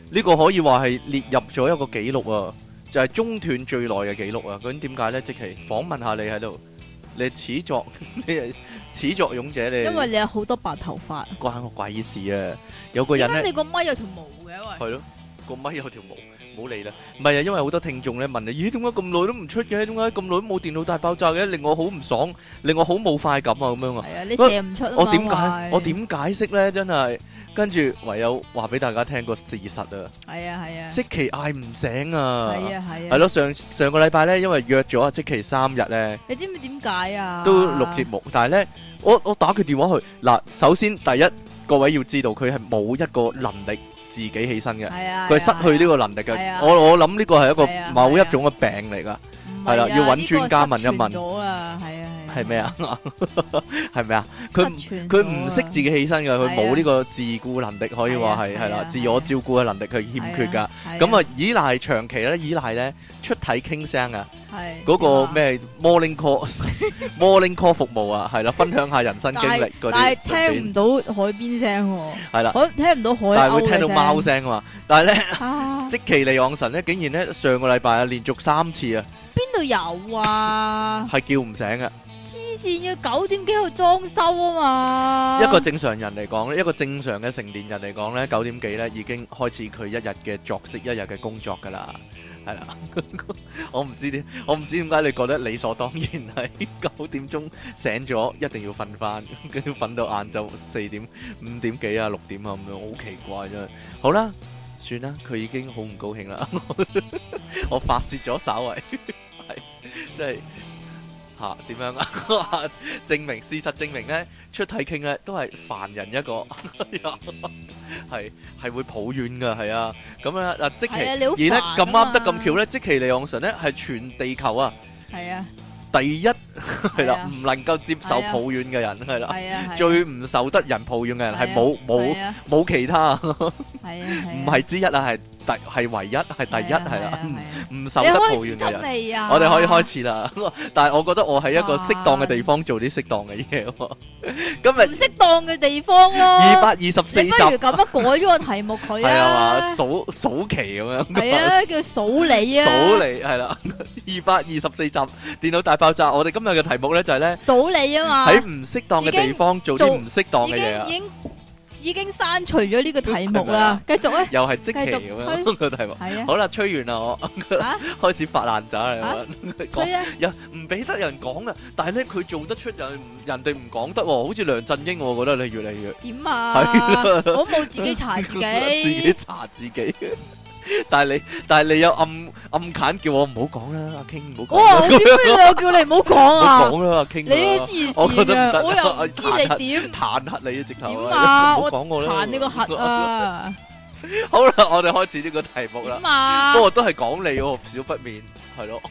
呢個可以話係列入咗一個紀錄啊，就係中斷最耐嘅紀錄啊！究竟點解呢？即期訪問下你喺度，你係始作，你係始作俑者，你因為你有好多白頭髮， 關我鬼事啊！有個人咧， 點解你個咪有條毛嘅？ 係咯，個咪有條毛，唔好理啦。唔係啊，因為好多聽眾咧問你，咦，點解咁耐都唔出嘅？點解咁耐都冇電腦大爆炸嘅？令我好唔爽，令我好冇快感啊！咁樣啊， 係啊，你射唔出啊嘛， 我點解？我點解釋咧？真係。跟住唯有話俾大家聽個事實啊！ 係啊係啊， 即期嗌唔醒啊！ 係啊係啊， 係咯，上上個禮拜咧，因為約咗啊，即期三日咧， 你知唔知點解啊？ 都錄節目，但係咧，我我打佢電話去嗱，首先第一，各位要知道佢係冇一個能力自己起身嘅，佢係失去呢個能力嘅。我我諗呢個係一個某一種嘅病嚟㗎，係啦，要揾專家問一問。咗啊，係啊。係咩啊？係咪啊？佢佢唔識自己起身噶，佢冇呢個自顧能力，可以話係係啦，自我照顧嘅能力佢欠缺噶。咁啊，依賴長期咧，依賴咧出體傾聲啊，嗰個咩 morning call morning call 服務啊，係啦，分享下人生經歷嗰啲。 但係聽唔到海邊聲喎，係啦，聽唔到海鷗嘅聲， 但係會聽到貓聲啊嘛。但係咧，積淇離岸神咧，竟然咧上個禮拜啊，連續三次啊， 邊度有啊？ 係叫唔醒嘅。 黐線，要九點幾去裝修啊嘛！ 一個正常人嚟講咧，一個正常嘅成年人嚟講咧，九點幾咧已經開始佢一日嘅作息，一日嘅工作噶啦，係啦。我唔知點，我唔知點解你覺得理所當然係九點鐘醒咗，一定要瞓翻，跟住瞓到晏晝四點、五點幾啊、六點啊咁樣，好奇怪真係。好啦，算啦，佢已經好唔高興啦。我發洩咗稍為，係即係。吓點樣啊？證明事實證明咧，出體傾咧都係凡人一個，係係會抱怨噶，係啊。咁啊嗱，即其而咧咁啱得咁巧咧，即其離岸神咧係全地球啊，係啊，第一係啦，唔能夠接受抱怨嘅人係啦，最唔受得人抱怨嘅人係冇冇冇其他，係啊，唔係之一啊，係。第係唯一係第一係啦，唔受得抱怨嘅人，我哋可以開始啦。但係我覺得我喺一個適當嘅地方做啲適當嘅嘢。今日唔適當嘅地方咯。 二百二十四集，你不如咁樣改咗個題目佢啊。係啊，數數期咁樣。 係啊，叫數你啊。 數你係啦，二百二十四集電腦大爆炸。我哋今日嘅題目咧就係咧數你啊嘛。 喺唔適當嘅地方做啲唔適當嘅嘢啊。 已經刪除咗呢個題目啦，繼續咧， 又係即期咁樣個題目，係啊，好啦，吹完啦，我開始發爛渣啦， 吹啊， 又唔俾得人講啊，但係咧佢做得出人，人哋唔講得，好似梁振英，我覺得你越嚟越點啊，我冇自己查自己， 自己查自己。但係你，但係你有暗暗砍叫我唔好講啦，阿 King 唔好講。 哇！點解我叫你唔好講啊？ 講啦，阿 King。 你黐線啊！我又唔知你點彈劾你啊！直頭。 點啊！ 我講我啦。 彈你個核啊！ 好啦，我哋開始呢個題目啦。 點啊？ 不過都係講你喎，少不免係咯。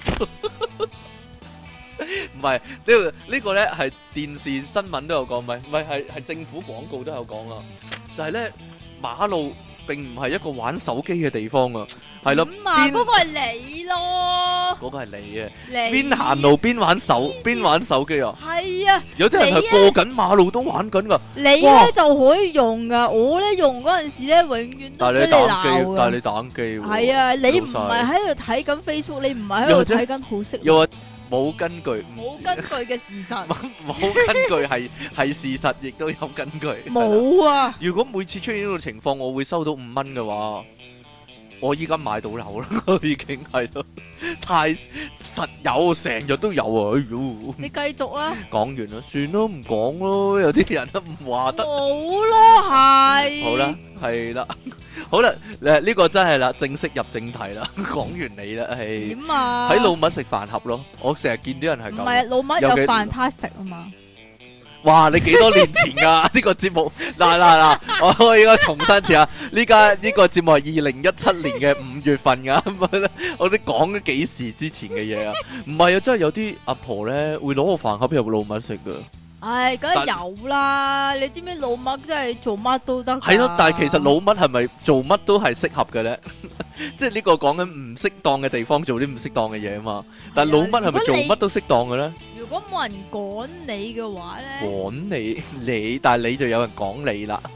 唔係呢個呢個咧係電視新聞都有講，唔係唔係係係政府廣告都有講啊，就係咧馬路。並唔係一個玩手機嘅地方啊，係咯， 邊嗰個係你咯， 嗰個係你啊，邊行路邊玩手邊玩手機啊， 係啊， 有啲人係過緊馬路都玩緊噶， 你咧就可以用噶，我咧用嗰陣時咧永遠都俾你鬧噶， 但係你打機， 係啊，你唔係喺度睇緊 Facebook，你唔係喺度睇緊好識。 冇根據， 冇根據嘅事實， 冇根據係係事實，亦都有根據。 冇啊！ 如果每次出現呢個情況，我會收到五蚊嘅話，我依家買到樓啦，已經係咯，太實有，成日都有啊！哎喲， 你繼續啦， 講完啦，算咯，唔講咯，有啲人都唔話得， 冇咯，係。 好啦，係啦。好啦，誒呢個真係啦，正式入正題啦，講完你啦，係點啊？ 喺老麥食飯盒咯，我成日見啲人係咁。唔係老麥有飯撻食啊嘛？ 哇！你幾多年前噶呢個節目？嗱嗱嗱，我我應該重新次啊！呢家呢個節目係二零一七年嘅五月份噶，我哋講咗幾時之前嘅嘢啊？唔係啊，真係有啲阿婆咧會攞個飯盒入老麥食噶。 唉，梗係有啦！你知唔知老麥真係做乜都得？ 係咯，但係其實老麥係咪做乜都係適合嘅咧？即係呢個講緊唔適當嘅地方做啲唔適當嘅嘢啊嘛。但係老麥係咪做乜都適當嘅咧？ 如果冇人趕你嘅話咧， 趕你你，但係你就有人講你啦。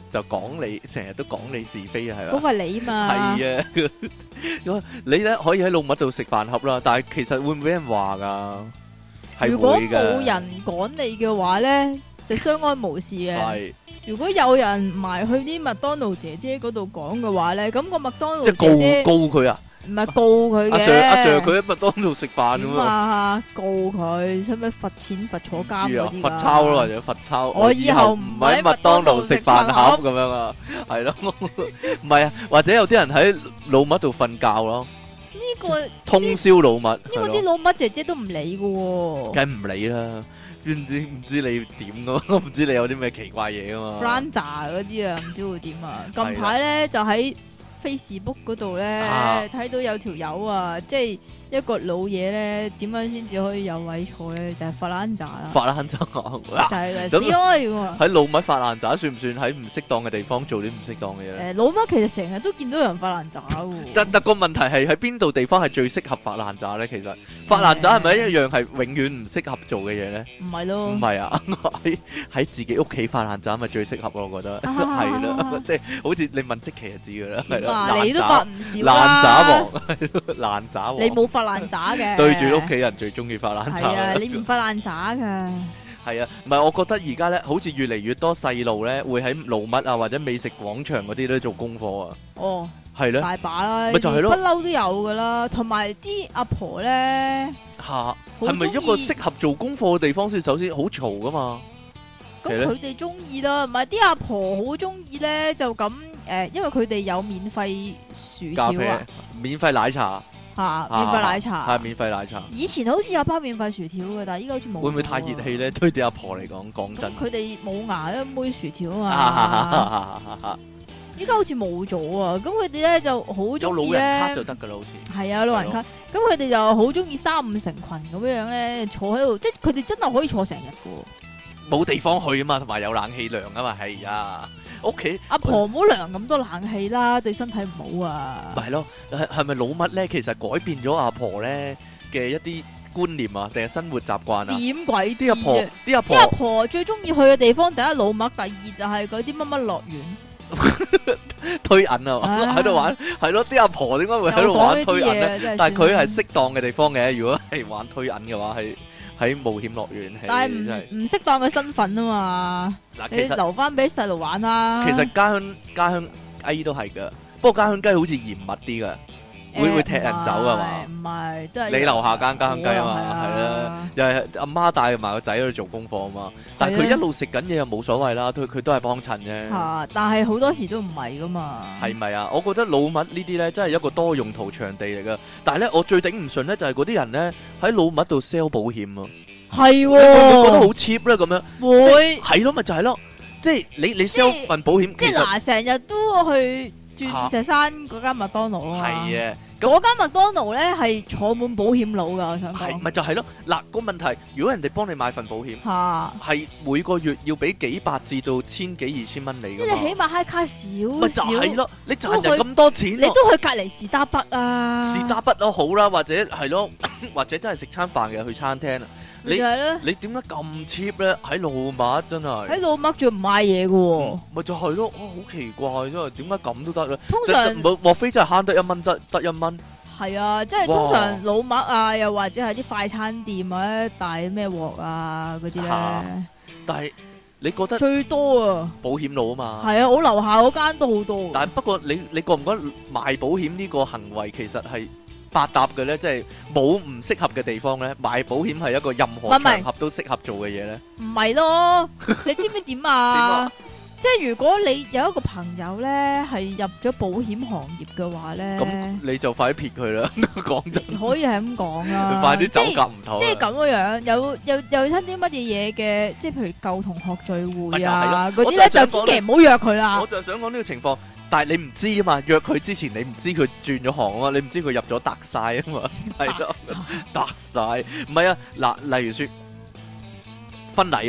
就講你，成日都講你是非啊，係嘛？ 嗰個係你嘛？ 係啊，你咧可以喺老麥度食飯盒啦，但係其實會唔會俾人話噶？係如果會㗎冇人趕你嘅話咧，就相安無事嘅。 係如果有人埋去啲麥當勞姐姐嗰度講嘅話咧，咁個麥當即係勞姐姐告告佢啊！ 唔係告佢阿嘅。 Sir 阿 Sir 佢喺麥當勞食飯咁點啊， 啊？告佢，使唔使罰錢罰坐監嗰啲㗎？ 罰抄咯，或者罰抄。 我以後唔喺麥當勞食飯盒咁樣啊，係咯，唔係啊，或者有啲人喺老麥度瞓覺咯， 呢個通宵老麥。 呢個啲老麥姐姐都唔理㗎喎。 梗唔理啦，知唔知唔知你點噶？唔知你有啲咩奇怪嘢噶嘛 Franja 嗰啲啊，唔知會點啊？近排咧就喺 Facebook 嗰度咧睇到有條友啊，即係一個老嘢咧，點樣先至可以有位坐咧？就係發爛渣啦， 發爛渣啊！ 就係死開喎！ 喺老麥發爛渣算唔算喺唔適當嘅地方做啲唔適當嘅嘢咧？ 誒，老麥其實成日都見到有人發爛渣喎。 但但個問題係喺邊度地方係最適合發爛渣咧？其實發爛渣係咪一樣係永遠唔適合做嘅嘢咧？ 唔係咯， 唔係啊！喺喺自己屋企發爛渣咪最適合咯，我覺得係啦，即係好似你問積淇就知噶啦，係啦， 你都發唔少啦， 爛渣王，爛渣王， 你冇發爛渣嘅， 對住屋企人最中意發爛渣。 係啊，你唔發爛渣噶。 係啊，唔係我覺得而家咧，好似越嚟越多細路咧，會喺老麥啊或者美食廣場嗰啲咧做功課啊。 哦， 係咧， 大把啦， 咪就係咯， 不嬲都有噶啦。同埋啲阿婆咧， 吓係咪一個適合做功課嘅地方先？首先好嘈噶嘛。 咁佢哋中意啦，唔係啲阿婆好中意咧，就咁誒，因為佢哋有免費薯條啊， 免費奶茶。 吓，免費奶茶係免費奶茶。 以前好似有包免費薯條嘅，但係依家好似冇。 會唔會太熱氣咧？對啲阿婆嚟講，講真。 佢哋冇牙一妹薯條啊嘛。依家好似冇咗啊！咁佢哋咧就好中意咧。有老人卡就得噶啦，好似。 係啊，老人卡。咁佢哋就好中意三五成群咁樣樣咧，坐喺度，即係佢哋真係可以坐成日噶。 冇地方去啊嘛，同埋有冷氣涼啊嘛，係啊。屋企阿婆唔好涼咁多冷氣啦，對身體唔好啊。 咪係咯，係係咪老麥咧？其實改變咗阿婆咧嘅一啲觀念啊，定係生活習慣啊？ 點鬼知？ 啲阿婆，啲阿婆， 啲阿婆最中意去嘅地方，第一老麥，第二就係嗰啲乜乜樂園， 推銀啊，喺度玩，係咯。啲阿婆點解會喺度玩推銀咧？但係佢係適當嘅地方嘅。如果係玩推銀嘅話，係喺冒險樂園。 但係唔唔適當嘅身份啊嘛。嗱，你留翻俾細路玩啦。 其實家鄉家鄉雞都係噶，不過家鄉雞好似嚴密啲噶，會會踢人走噶嘛？ 唔係，都係你樓下間家鄉雞啊嘛，係啦，又係阿媽帶埋個仔喺度做功課啊嘛。但係佢一路食緊嘢又冇所謂啦，佢佢都係幫襯啫。 嚇！但係好多時都唔係噶嘛。 係咪啊？我覺得老麥呢啲咧真係一個多用途場地嚟噶。但係咧，我最頂唔順咧就係嗰啲人咧喺老麥度 sell 保險啊。 係喎， 會唔會覺得好 cheap 咧？咁樣會係咯，咪就係咯，即係你你 sell 份保險， 即係嗱，成日都去鑽石山嗰間麥當勞啊嘛。 係啊， 嗰間麥當勞咧係坐滿保險佬噶，我想講。 係咪就係咯？嗱，個問題，如果人哋幫你買份保險， 嚇係每個月要俾幾百至到千幾二千蚊你噶嘛？ 即係起碼嗨卡少咪就係咯，你賺人咁多錢， 你都去隔離士打筆啊？ 士打筆都好啦，或者係咯，或者真係食餐飯嘅去餐廳啊。你你點解咁 cheap 咧？喺老麥真係喺老麥仲唔買嘢嘅喎？ 咪就係咯，好奇怪真係，點解咁都得咧？ 通常莫莫非真係慳得一蚊，得得一蚊？ 係啊，即係通常老麥啊，又或者係啲快餐店啊，大咩鑊啊嗰啲咧。 但係你覺得最多啊？ 保險佬啊嘛。 係啊，我樓下嗰間都好多。 但係不過你你覺唔覺得賣保險呢個行為其實係百搭嘅咧？即係冇唔適合嘅地方咧，賣保險係一個任何場合都適合做嘅嘢咧。 唔係咯，你知唔知點啊？ 點啊？ 即係如果你有一個朋友咧係入咗保險行業嘅話咧， 咁你就快啲撇佢啦！講真， 可以係咁講啦。 快啲走夾唔唞。 即係咁嘅樣，有有有親啲乜嘢嘢嘅，即係譬如舊同學聚會啊嗰啲咧，就千祈唔好約佢啦。 我就想講呢個情況。但係你唔知啊嘛，約佢之前你唔知佢轉咗行啊嘛，你唔知佢入咗特晒啊嘛，係咯，特晒，唔係啊，嗱，例如說婚禮啦，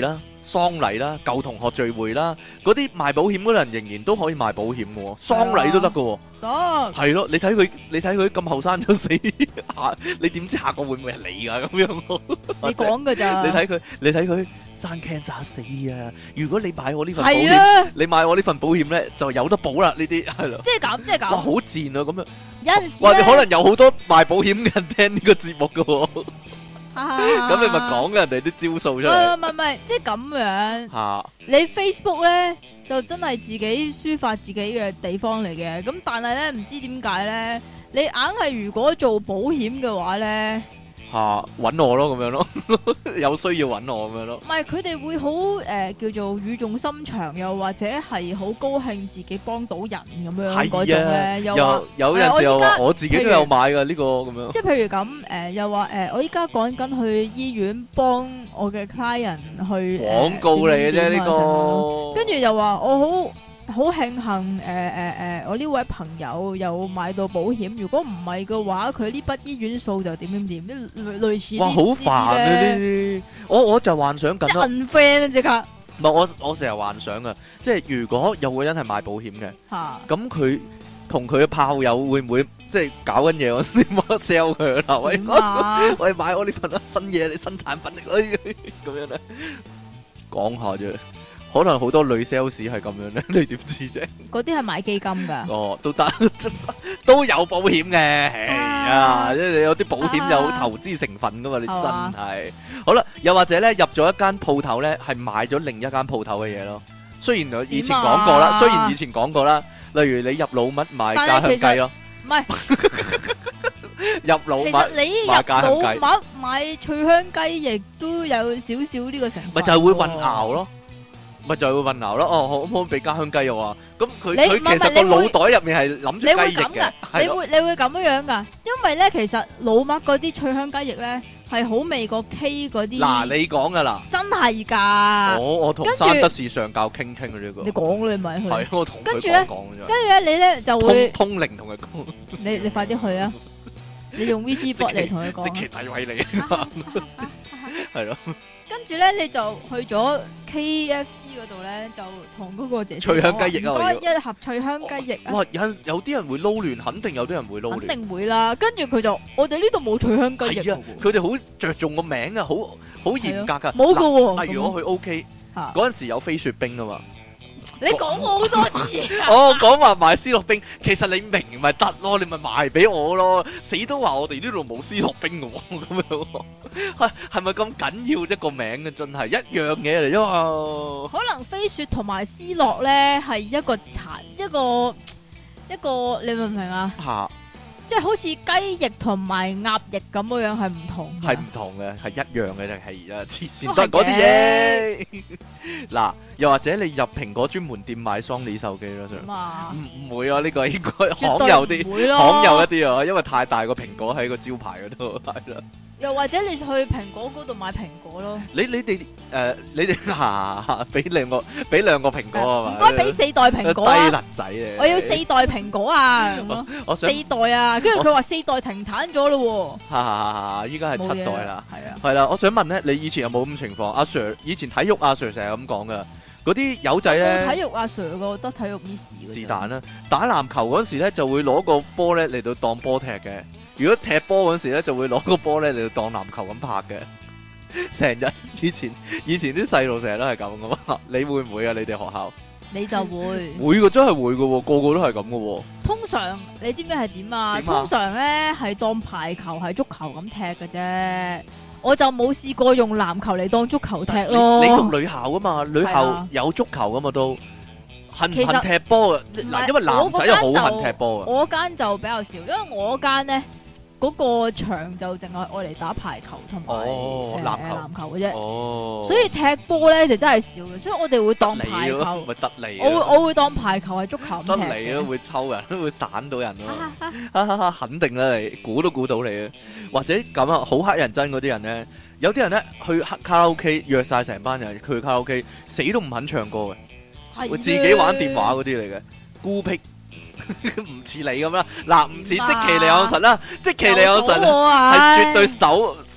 喪禮啦、舊同學聚會啦，嗰啲賣保險嗰啲人仍然都可以賣保險嘅喎，喪禮都得嘅喎。 得係咯，你睇佢，你睇佢咁後生就死，下你點知下個會唔會係你啊？咁樣你講㗎咋？ 你睇佢，你睇佢生 cancer 死啊！如果你買我呢份保係險， 啊， 你買我呢份保險咧，就有得保啦。呢啲係咯， 即係咁，即係哇， 咁。 好賤啊！咁樣， 有陣時或者可咧， 能有好多賣保險嘅人聽呢個節目嘅喎，咁咁你咪講人哋啲招數出唔嚟係唔係唔係，即係咁樣。 嚇。 你 Facebook 咧就真係自己抒發自己嘅地方嚟嘅，咁但係咧唔知點解咧，你硬係如果做保險嘅話咧， 嚇揾我咯，咁樣咯，有需要揾我咁樣咯。 唔係佢哋會好誒、呃、叫做語重心長，又或者係好高興自己幫到人咁樣嗰種咧，又話有有陣時又話我自己都有買㗎呢個咁樣。 即係譬如咁誒、呃，又話誒、呃，我依家趕緊去醫院幫我嘅 client 去廣告嚟嘅啫呢個， 跟住又話我好好慶幸誒誒誒，我呢位朋友有買到保險，如果唔係嘅話，佢呢筆醫院數就點點點，類類似。 哇，好煩啊呢啲！我我就幻想緊咯。 unfriend 啊，即刻。 唔係我我成日幻想啊，即係如果有個人係賣保險嘅，咁佢同佢嘅炮友會唔會即係搞緊嘢？我先冇 sell 佢啦，喂，喂買我呢份新嘢，你新產品嚟，咁樣咧，講下啫。可能好多女 sales 係咁樣咧，你點知啫？ 嗰啲係買基金噶。 哦，都得，都有保險嘅，係啊，即係有啲保險有投資成分噶嘛，你真係。好啦，又或者咧入咗一間鋪頭咧，係買咗另一間鋪頭嘅嘢咯。雖然我以前講過啦，雖然以前講過啦，例如你入老麥買家鄉雞咯， 唔係入老麥， 其實你入老麥買脆香雞翼都有少少呢個成分， 咪就係會混淆咯。咪就係會混淆咯，哦，可唔可以俾家鄉雞肉啊？咁佢佢其實個腦袋入面係諗住雞翼嘅， 你會你會咁樣噶？因為咧，其實老麥嗰啲脆香雞翼咧係好味過 K 嗰啲。嗱， 你講噶啦， 真係㗎。 我我同山德士上教傾傾嘅呢個。你講你咪去。係我同佢講講啫。 跟住咧，你咧就會通通靈同佢講。 你你快啲去啊！你用 V G bot 嚟同佢講。 即其詆毀你，係咯。 跟住咧，你就去咗 K F C 嗰度咧，就同嗰個姐姐脆香雞翼啊， 唔該一盒脆香雞翼啊！ 哇，有有啲人會撈亂，肯定有啲人會撈亂， 肯定會啦。跟住佢就，我哋呢度冇脆香雞翼。 係啊，佢哋好着重個名啊，好好嚴格噶。 冇噶喎。 例如我去 O K 嗰陣時有飛雪冰啊嘛。 你講好多次啊！ 我講話買斯諾冰，其實你明咪得咯，你咪賣俾我咯。死都話我哋呢度冇斯諾冰嘅喎，咁樣係係咪咁緊要一個名嘅？真係一樣嘢嚟啫嘛。 可能飛雪同埋斯諾咧係一個殘一個一個，你明唔明啊？嚇！即係好似雞翼同埋鴨翼咁樣樣係唔同， 係唔同嘅，係一樣嘅定係啊？黐線都係嗰啲嘢。嗱，又或者你入蘋果專門店買 Sony 手機咯，上唔唔會啊？呢個應該罕有啲，罕有一啲啊，因為太大個蘋果喺個招牌嗰度係啦。又或者你去蘋果嗰度買蘋果咯。 你你哋誒，你哋嚇俾兩個俾兩個蘋果啊嘛？ 唔該俾四袋蘋果啊！ 低能仔嚟， 我要四袋蘋果啊！我四袋啊！跟住佢話四代停產咗咯喎。 哈哈哈！依家係七代啦， 係啊， 係啦。我想問咧，你以前有冇咁情況？阿 Sir 以前體育阿 Sir 成日咁講噶，嗰啲友仔咧， 體育阿 Sir 個得體育 Miss 是但啦。打籃球嗰時咧，就會攞個波咧嚟到當波踢嘅。如果踢波嗰時咧，就會攞個波咧嚟到當籃球咁拍嘅。成日以前以前啲細路成日都係咁噶嘛。你會唔會啊？你哋學校？ 你就會會嘅，真係會嘅，個個都係咁嘅。 通常你知唔知係點啊？通常咧係當排球係足球咁踢嘅啫。我就冇試過用籃球嚟當足球踢咯。 你讀女校噶嘛？女校有足球噶嘛都。恨唔恨踢波嘅？嗱，因為男仔又好恨踢波嘅。 我間就比較少，因為我間咧。嗰個場就淨係愛嚟打排球同埋誒籃球嘅啫，哦、所以踢波咧就真係少嘅，所以我哋會當排球， 咪得你， 我會我會當排球係足球咁踢嘅。 得你咯，會抽人，會散到人咯，肯定啦，你估都估到你啊！或者咁啊，好乞人憎嗰啲人咧，有啲人咧去卡拉 OK 約晒成班人，佢去卡拉 OK 死都唔肯唱歌嘅，的會自己玩電話嗰啲嚟嘅，孤僻。唔似你咁啦，嗱唔似積淇離岸神啦，積淇離岸神係絕對守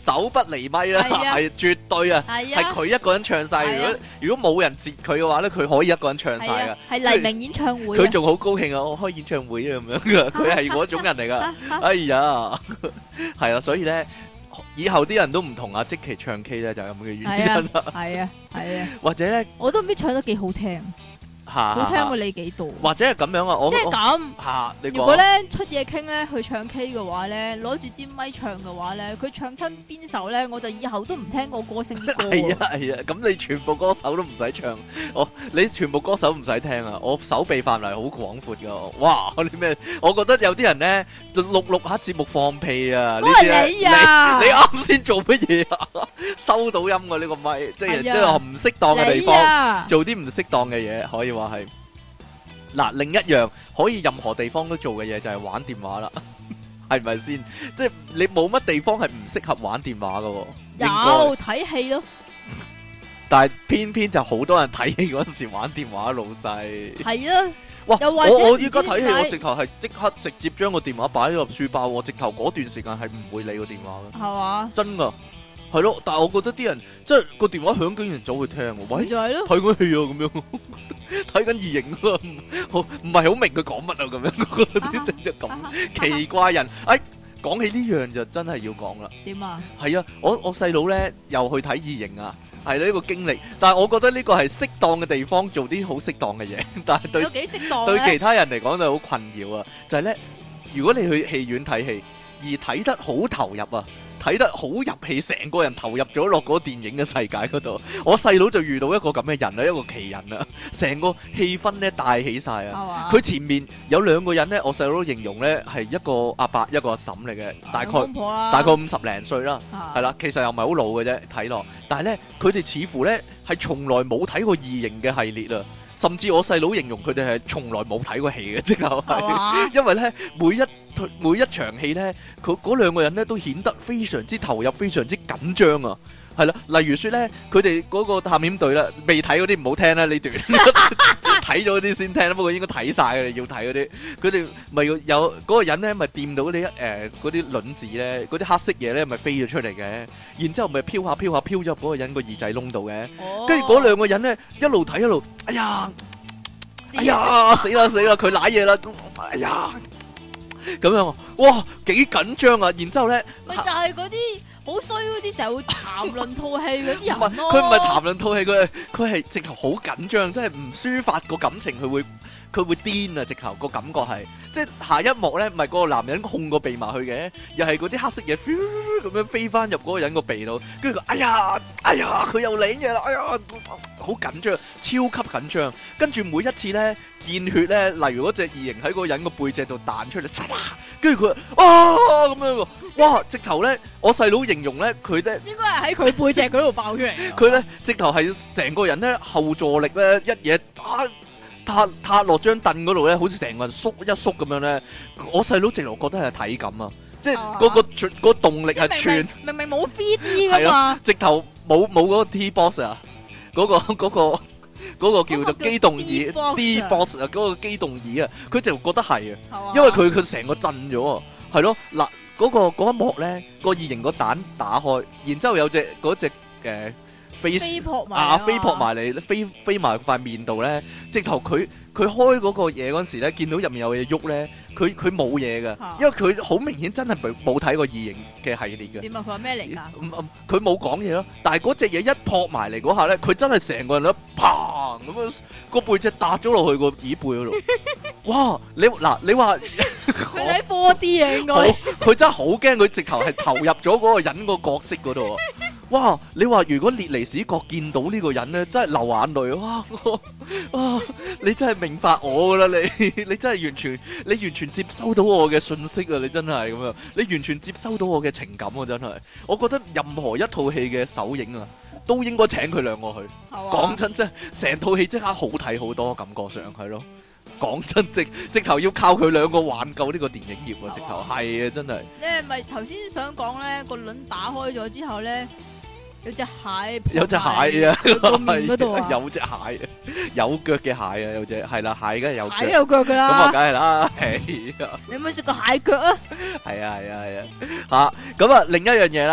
手不離咪啦，係絕對啊，係佢一個人唱晒。如果如果冇人截佢嘅話咧，佢可以一個人唱晒噶。 係黎明演唱會， 佢仲好高興啊！我開演唱會啊咁樣噶，佢係嗰種人嚟噶。哎呀，係啊，所以咧。以後啲人都唔同啊，積淇唱 K 咧就係咁嘅原因啦。 係啊，係啊， 或者咧， 我都唔知唱得幾好聽。好聽過你幾度？ 或者係咁樣啊，我即係咁嚇。 如果咧出嘢傾咧去唱 K 嘅話咧，攞住支咪唱嘅話咧，佢唱親邊首咧，我就以後都唔聽個歌星啲歌。 係啊係啊，咁你全部歌手都唔使唱，我你全部歌手唔使聽啊！我手臂範圍好廣闊噶，哇！你咩？我覺得有啲人咧錄錄下節目放屁啊！ 嗰係你啊！ 你啱先做乜嘢啊？收到音啊！呢個咪即係即係唔適當嘅地方，做啲唔適當嘅嘢，可以話。話係嗱，另一樣可以任何地方都做嘅嘢就係玩電話啦，係咪先？即係你冇乜地方係唔適合玩電話噶。 有睇戲咯， 但係偏偏就好多人睇戲嗰陣時玩電話，老細係啊。 哇！我我依家睇戲，我直頭係即刻直接將個電話擺咗入書包，我直頭嗰段時間係唔會理個電話嘅，係嘛？真噶。係咯，但係我覺得啲人即係個電話響竟然走去聽，喂，就係咯，睇緊戲啊咁樣，睇緊異形啊，好唔係好明佢講乜啊咁樣，啲咁奇怪人。哎，講起呢樣就真係要講啦。點啊？係啊，我我細佬咧又去睇異形啊，係呢個經歷。但係我覺得呢個係適當嘅地方做啲好適當嘅嘢，但係對幾適當對其他人嚟講就好困擾啊。就係咧，如果你去戲院睇戲而睇得好投入啊。睇得好入戲，成個人投入咗落嗰個電影嘅世界嗰度。我細佬就遇到一個咁嘅人啦，一個奇人啊，成個氣氛咧帶起晒啊！佢前面有兩個人咧，我細佬形容咧係一個阿伯一個阿嬸嚟嘅，大概大概五十零歲啦，係啦，其實又唔係好老嘅啫，睇落。但係咧，佢哋似乎咧係從來冇睇過異形嘅系列啊。甚至我細佬形容佢哋係從來冇睇過戲嘅，即係，係因為咧每一每一場戲咧，佢嗰兩個人咧都顯得非常之投入，非常之緊張啊！係啦，例如説咧，佢哋嗰個探險隊啦，未睇嗰啲唔好聽啦呢段，睇咗嗰啲先聽啦。不過應該睇曬嘅，要睇嗰啲。佢哋咪有有嗰個人咧，咪掂到嗰啲誒嗰啲卵子咧，嗰啲黑色嘢咧，咪飛咗出嚟嘅。然之後咪飄下飄下飄咗入嗰個人個耳仔窿度嘅。跟住嗰兩個人咧一路睇一路，哎呀，哎呀，死啦死啦，佢瀨嘢啦，哎呀，咁樣，哇，幾緊張啊！然之後咧， 咪就係嗰啲。好衰嗰啲成日會談論套戲嗰啲人咯， 佢唔係談論套戲，佢係佢係直頭好緊張，即係唔抒發個感情，佢會佢會癲啊！直頭個感覺係，即係下一幕咧，唔係嗰個男人控個鼻埋去嘅，又係嗰啲黑色嘢咁樣飛翻入嗰個人個鼻度，跟住佢哎呀哎呀，佢又領嘢啦，哎呀，好緊張，超級緊張。跟住每一次咧見血咧，例如嗰隻異形喺嗰個人個背脊度彈出嚟，跟住佢啊咁樣，哇！直頭咧，我細佬形容咧，佢咧應該係喺佢背脊嗰度爆出嚟。 佢咧直頭係成個人咧後坐力咧一嘢打塌塌落張凳嗰度咧，好似成個人縮一縮咁樣咧。我細佬直頭覺得係體感啊，即係嗰個嗰個動力係串。 明明冇 three D 噶嘛， 直頭冇冇嗰個 T-box 啊，嗰個嗰個嗰個叫做機動椅 D-box 啊，嗰個機動椅啊，佢直頭覺得係啊，因為佢佢成個震咗啊，係咯嗱。嗰、那個嗰一幕咧，個異形個蛋打開，然之後有隻嗰隻誒飛啊飛撲埋嚟，飛飛埋塊面度咧，直頭佢佢開嗰個嘢嗰陣時咧，見到入面有嘢喐咧，佢佢冇嘢㗎，因為佢好明顯真係冇冇睇過異形嘅系列嘅。 點啊？佢話咩嚟㗎？ 嗯嗯，佢冇講嘢咯，但係嗰隻嘢一撲埋嚟嗰下咧，佢真係成個人都砰咁樣個背脊搭咗落去個椅背嗰度。哇！你嗱你話佢睇 four D 啊，應該佢真係好驚，佢直頭係投入咗嗰個人個角色嗰度。哇！你話如果列尼史葛見到呢個人咧，真係流眼淚。哇！啊！你真係明白我噶啦，你你真係完全你完全接收到我嘅信息啊！你真係咁樣，你完全接收到我嘅情感啊！真係，我覺得任何一套戲嘅首映啊，都應該請佢兩個去。講真真，成套戲即刻好睇好多，感覺上係咯。講真，直直頭要靠佢兩個挽救呢個電影業啊！直頭係啊，真係。你係咪頭先想講咧？個輪打開咗之後咧？有隻蟹，有隻蟹啊！個面嗰度啊，有隻蟹，有腳嘅蟹啊，有隻係啦，蟹梗係有腳，蟹有腳噶啦，咁啊，梗係啦，係啊！你有冇食過蟹腳啊？係啊係啊係啊！吓咁啊，另一樣嘢啦，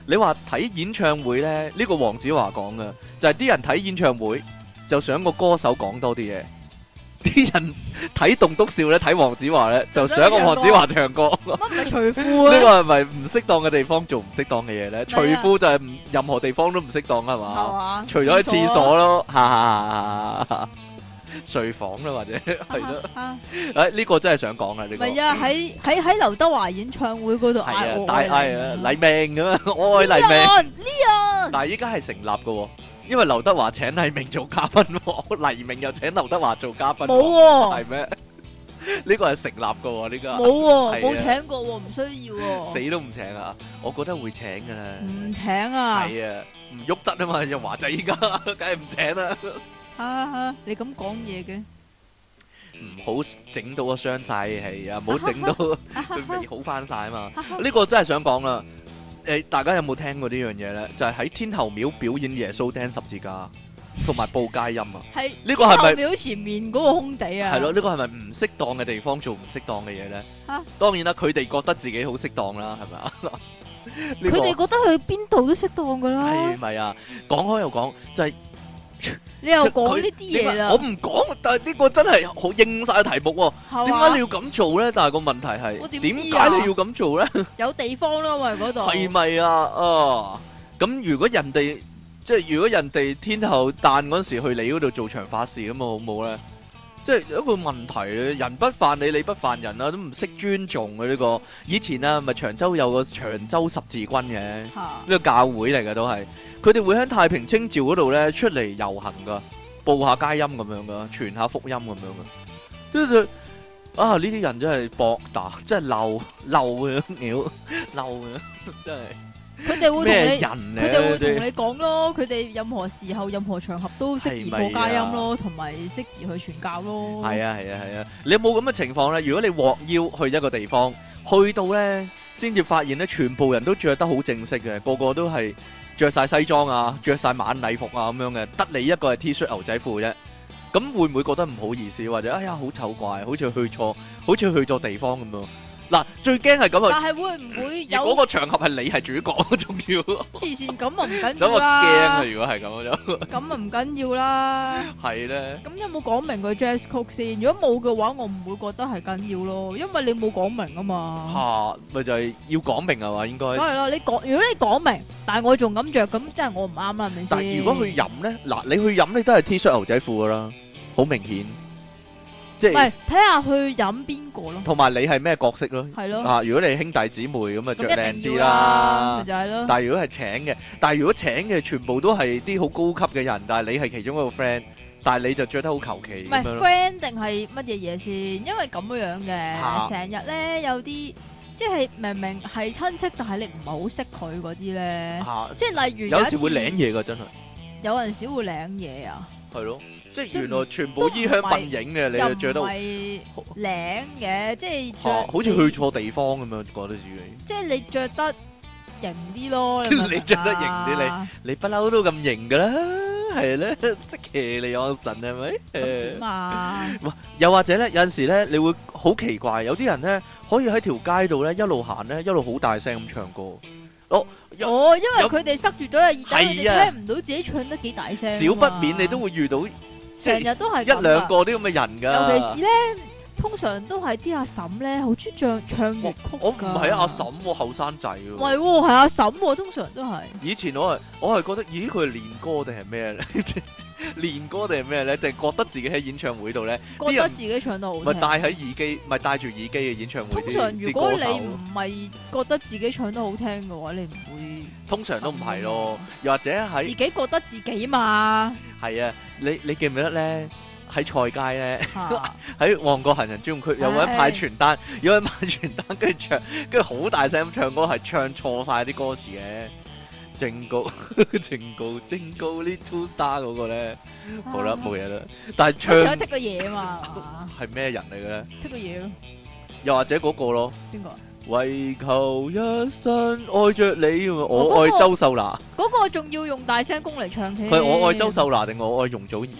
你話睇演唱會咧，呢個黃子華講嘅就係啲人睇演唱會就想個歌手講多啲嘢，啲人睇棟篤笑咧睇黃子華咧就想個黃子華唱歌。 乜唔係除褲啊？ 呢個係咪唔適當嘅地方做唔適當嘅嘢咧？除褲就係唔任何地方都唔適當係嘛？除咗喺廁所咯，哈哈哈！睡房啦或者係咯，誒呢個真係想講啊！呢個唔係啊，喺喺喺劉德華演唱會嗰度嗌我愛黎明，黎明咁啊，我愛黎明。 呢但係依家係成立嘅，因為劉德華請黎明做嘉賓，黎明又請劉德華做嘉賓， 冇係咩？呢個係成立嘅，呢個冇冇請過，唔需要， 死都唔請啊！我覺得會請噶啦， 唔請啊， 係啊，唔喐得啊嘛，又華仔依家，梗係唔請啦。 哈哈，你咁講嘢嘅， 唔好整到我傷晒係啊，唔好整到佢未好翻晒啊嘛。呢個真係想講啦，誒，大家有冇聽過呢樣嘢咧？就係喺天后廟表演耶穌釘十字架，同埋報佳音啊。係呢個係咪廟前面嗰個空地啊？ 係咯，呢個係咪唔適當嘅地方做唔適當嘅嘢咧？吓，當然啦，佢哋覺得自己好適當啦，係咪啊？ 佢哋覺得去邊度都適當噶啦。 係咪啊？講開又講，就係。 你又講呢啲嘢啦， 我唔講，但係呢個真係好應晒題目喎。點解你要咁做咧？但係個問題係，點解你要咁做咧？ 有地方咯，因為嗰度係咪啊？啊，咁如果人哋即係如果人哋天后誕嗰時去你嗰度做場法事咁啊，好唔好咧？即係有一個問題咧，人不犯你，你不犯人啊，都唔識尊重嘅呢個。以前啊，咪長洲有個長洲十字軍嘅，呢個教會嚟嘅都係。佢哋會喺太平清醮嗰度咧出嚟遊行噶，報下佳音咁樣噶，傳下福音咁樣噶。即係啊，呢啲人真係博大，真係漏漏嘅屌，漏嘅真係。 佢哋會同你， 咩人咧？ 佢哋會同你講咯。佢哋任何時候、任何場合都適宜報佳音咯，同埋適宜去傳教咯。 係啊係啊係啊！你有冇咁嘅情況咧？如果你獲邀去一個地方，去到咧先至發現咧，全部人都着得好正式嘅，個個都係着晒西裝啊，着晒晚禮服啊咁樣嘅，得你一個係 T 恤牛仔褲啫。咁會唔會覺得唔好意思，或者哎呀好醜怪，好似去錯，好似去錯地方咁樣？嗱，最驚係咁啊！ 但係會唔會有嗰個場合係你係主角，仲要黐線咁啊？唔緊要啦！咁我驚啊！如果係咁就咁啊，唔緊要啦。 係咧。咁有冇講明個 dress code 先？如果冇嘅話，我唔會覺得係緊要咯，因為你冇講明啊嘛。嚇， 咪就係要講明係嘛？應該。 係咯，你講如果你講明，但係我仲咁著，咁即係我唔啱啦，係咪先？ 但係如果去飲咧，嗱，你去飲你都係 T 恤牛仔褲噶啦，好明顯。 唔係睇下去飲邊個咯， 同埋你係咩角色咯？ 係咯， 啊，如果你係兄弟姊妹咁啊，着靚啲啦， 就係咯。 但係如果係請嘅，但係如果請嘅全部都係啲好高級嘅人，但係你係其中一個 friend，但係你就着得好求其。唔係 friend 定係乜嘢嘢先？因為咁樣嘅，成日咧有啲即係明明係親戚，但係你唔係好識佢嗰啲咧，即係例如有時會領嘢噶，真係。 有陣時會領嘢啊？ 係咯。即係原來全部衣香鬢影嘅，你就着得係領嘅，即係着好似去錯地方咁樣，覺得自己。 即係你着得型啲咯， 你着得型啲，你你不嬲都咁型噶啦，係咧，即騎你我神係咪？ 點啊？ 又或者咧，有陣時咧，你會好奇怪，有啲人咧可以喺條街度咧一路行咧，一路好大聲咁唱歌。 哦，哦，因為佢哋塞住咗耳仔，佢哋聽唔到自己唱得幾大聲。 少不免你都會遇到。 成日都係一兩個啲咁嘅人噶， 尤其是咧，通常都係啲阿嬸咧，好中意唱唱粵曲。 我唔係阿嬸喎，後生仔喎。 唔係喎，係阿嬸喎，通常都係。 以前我係我係覺得，咦，佢係練歌定係咩咧？練歌定係咩咧？定係覺得自己喺演唱會度咧， 覺得自己唱得好聽。 咪戴喺耳機，咪戴住耳機嘅演唱會。 通常如果你唔係覺得自己唱得好聽嘅話，你唔會。 通常都唔係咯，又或者喺自己覺得自己嘛。 係啊，你你記唔記得咧？喺菜街咧，喺旺角行人專用區有位派傳單，有位派傳單，跟住唱，跟住好大聲咁唱歌，係唱錯晒啲歌詞嘅。正告正告正告 Little Star 嗰個咧，好啦，冇嘢啦。但係唱想剔個嘢嘛， 係咩人嚟嘅咧？ 剔個嘢咯， 又或者嗰個咯？ 邊個？ 為求一生愛着你，我愛周秀娜。 嗰個仲要用大聲公嚟唱起。 佢我愛周秀娜定我愛容祖兒啊？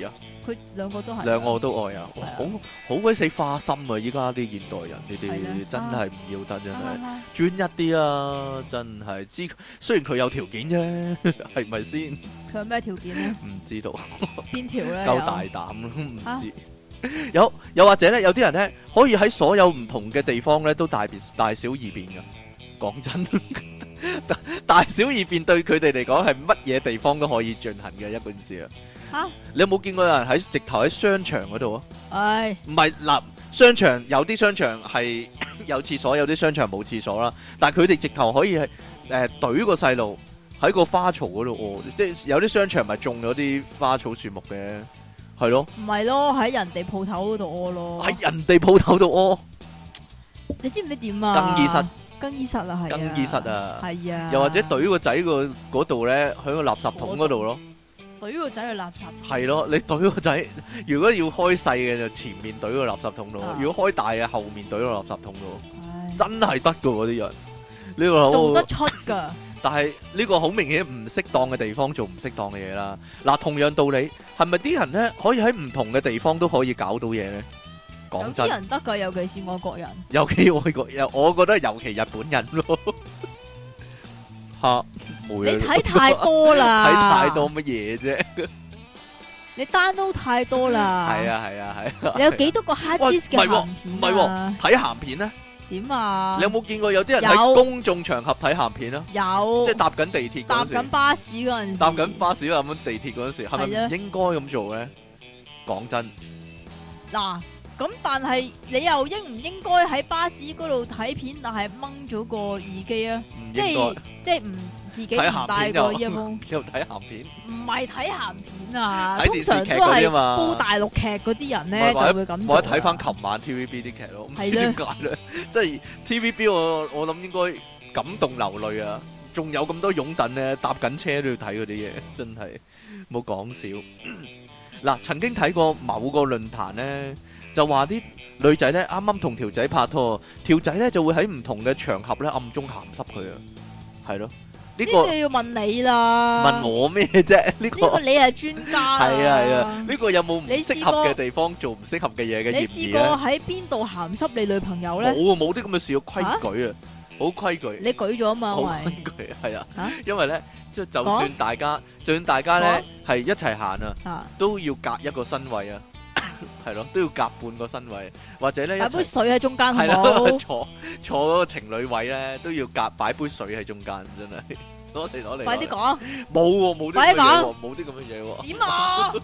佢兩個都係。 兩個都愛啊！好好鬼死花心啊！依家啲現代人，你哋係真係唔要得，真係啊專一啲啊！真係知，雖然佢有條件啫，係咪先？ 佢有咩條件咧？ 唔知道。 邊條咧？ 夠大膽咯，唔知。有又或者咧，有啲人咧可以喺所有唔同嘅地方咧都大變大小異變噶。講真，大小異變對佢哋嚟講係乜嘢地方都可以進行嘅一件事啊！ 吓， 你有冇見過有人喺直頭喺商場嗰度啊？ 唉， 唔係嗱，商場有啲商場係有廁所，有啲商場冇廁所啦。但係佢哋直頭可以係誒懟個細路喺個花槽嗰度屙，即係有啲商場咪種咗啲花草樹木嘅。係咯， 唔係咯，喺人哋鋪頭嗰度屙咯， 喺人哋鋪頭度屙， 你知唔知點啊？ 更衣室， 更衣室啊，係啊， 更衣室啊， 係啊， 又或者懟個仔個嗰度咧，喺個垃圾桶嗰度咯， 懟個仔去垃圾桶， 係咯，你懟個仔，如果要開細嘅就前面懟個垃圾桶度，啊、如果開大嘅後面懟個垃圾桶度，唉真係得噶嗰啲人，呢個做得出噶。 但係呢個好明顯唔適當嘅地方做唔適當嘅嘢啦。嗱，同樣道理，係咪啲人咧可以喺唔同嘅地方都可以搞到嘢咧？講真， 有啲人得噶，尤其是外國人。 尤其外國人，我覺得尤其日本人咯。吓，冇嘢。 你睇太多啦， 睇太多乜嘢啫？ 你 download 太多啦。 係啊係啊係啊。 你有幾多個 hard disk 嘅鹹片？ 唔係喎，睇鹹片咧。 點啊？ 你有冇見過有啲人喺公眾場合睇鹹片啊？ 有， 即係搭緊地鐵嗰陣時， 搭緊巴士嗰陣時， 搭緊巴士啊咁地鐵嗰陣時，係咪唔應該咁做咧？講真， 嗱，咁但係你又應唔應該喺巴士嗰度睇片，但係掹咗個耳機啊？即係即係唔自己唔帶個耳筒， 又睇鹹片？ 唔係睇鹹片啊，通常都係煲大陸劇嗰啲人咧就會咁做。 或者睇翻琴晚 T V B 啲劇咯，唔知點解咧？即係 T V B 我我諗應該感動流淚啊！仲有咁多擁躉咧，搭緊車都要睇嗰啲嘢，真係冇講笑。嗱，曾經睇過某個論壇咧，就話啲女仔咧啱啱同條仔拍拖，條仔咧就會喺唔同嘅場合咧暗中鹹濕佢啊，係咯。呢個要問你啦， 問我咩啫？呢個呢個你係專家， 係啊係啊，呢個有冇唔適合嘅地方做唔適合嘅嘢嘅嫌疑咧？ 你試過喺邊度鹹濕你女朋友咧？ 冇啊，冇啲咁嘅事，規矩啊，好規矩。 你舉咗啊嘛？ 好規矩係啊，因為咧即係就算大家，就算大家咧係一齊行啊，都要隔一個身位啊，係咯，都要隔半個身位，或者咧擺杯水喺中間， 係啦，坐坐嗰個情侶位咧都要隔擺杯水喺中間，真係攞嚟攞嚟。 快啲講， 冇喎，冇啲咁嘅嘢，冇啲咁嘅嘢喎。 點啊？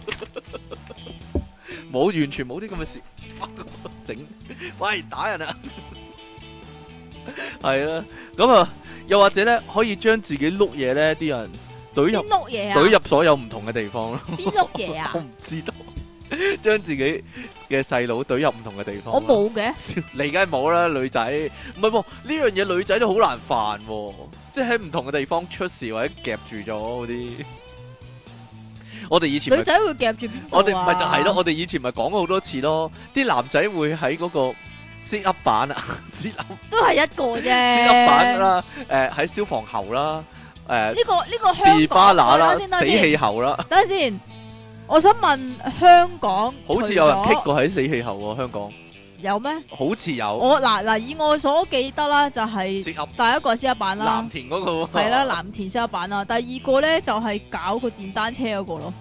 冇，完全冇啲咁嘅事。整，喂，打人啊！係啦，咁啊，又或者咧，可以將自己碌嘢咧，啲人懟入碌嘢啊， 懟入所有唔同嘅地方咯。 邊碌嘢啊？ 我唔知道。將自己嘅細佬懟入唔同嘅地方。 我冇嘅， 你梗係冇啦，女仔。唔係喎，呢樣嘢女仔都好難犯喎，即係喺唔同嘅地方出事或者夾住咗嗰啲。我哋以前女仔會夾住邊度啊？ 我哋唔係就係咯，我哋以前咪講過好多次咯。啲男仔會喺嗰個 sit up 板啊，sit up 都係一個啫。 sit up 板啦，誒喺消防喉啦，誒呢個呢個香港士巴拿啦， 死氣喉啦。 等陣先。我想問香港， 好似有人棘過喺死氣喉喎，香港有咩？ 好似有。 我嗱嗱以我所記得啦，就係第一個先一版啦， 藍田嗰個係啦，藍田先一版啦。第二個咧就係搞個電單車嗰個咯，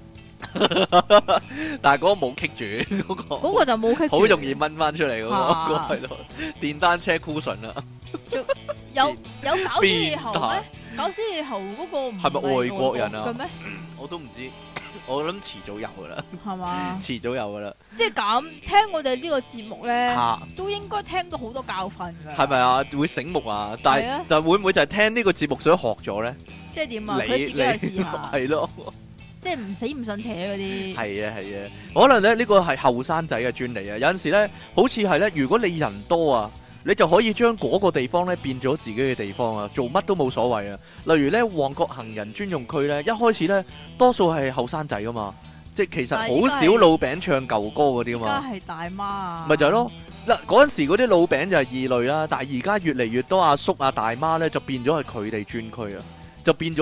但係嗰個冇棘住，嗰個嗰個就冇棘住， 好容易掹翻出嚟嗰個係咯，電單車 cushion 啦。 有有搞死氣喉咩？搞死氣喉嗰個唔係係咪外國人啊？ 嘅咩？ 我都唔知。我諗遲早有噶啦， 係嘛？ 遲早有噶啦。 即係咁，聽我哋呢個節目咧，啊、都應該聽到好多教訓噶。 係咪啊？會醒目啊？但係就會唔會就係聽呢個節目所以學咗咧？ 即係點啊？佢自己去試下。 係咯， 即係唔死唔信邪嗰啲。 係啊係啊，可能咧呢個係後生仔嘅專利啊。有陣時咧，好似係咧，如果你人多啊。你就可以將嗰個地方咧變咗自己嘅地方啊，做乜都冇所謂啊。例如咧，旺角行人專用區咧，一開始咧多數係後生仔噶嘛，即係其實好少老餅唱舊歌嗰啲嘛。 而家係大媽啊， 咪就係咯。嗱，嗰陣時嗰啲老餅就係異類啦，但係而家越嚟越多阿叔啊大媽咧就變咗係佢哋專區啊，就變咗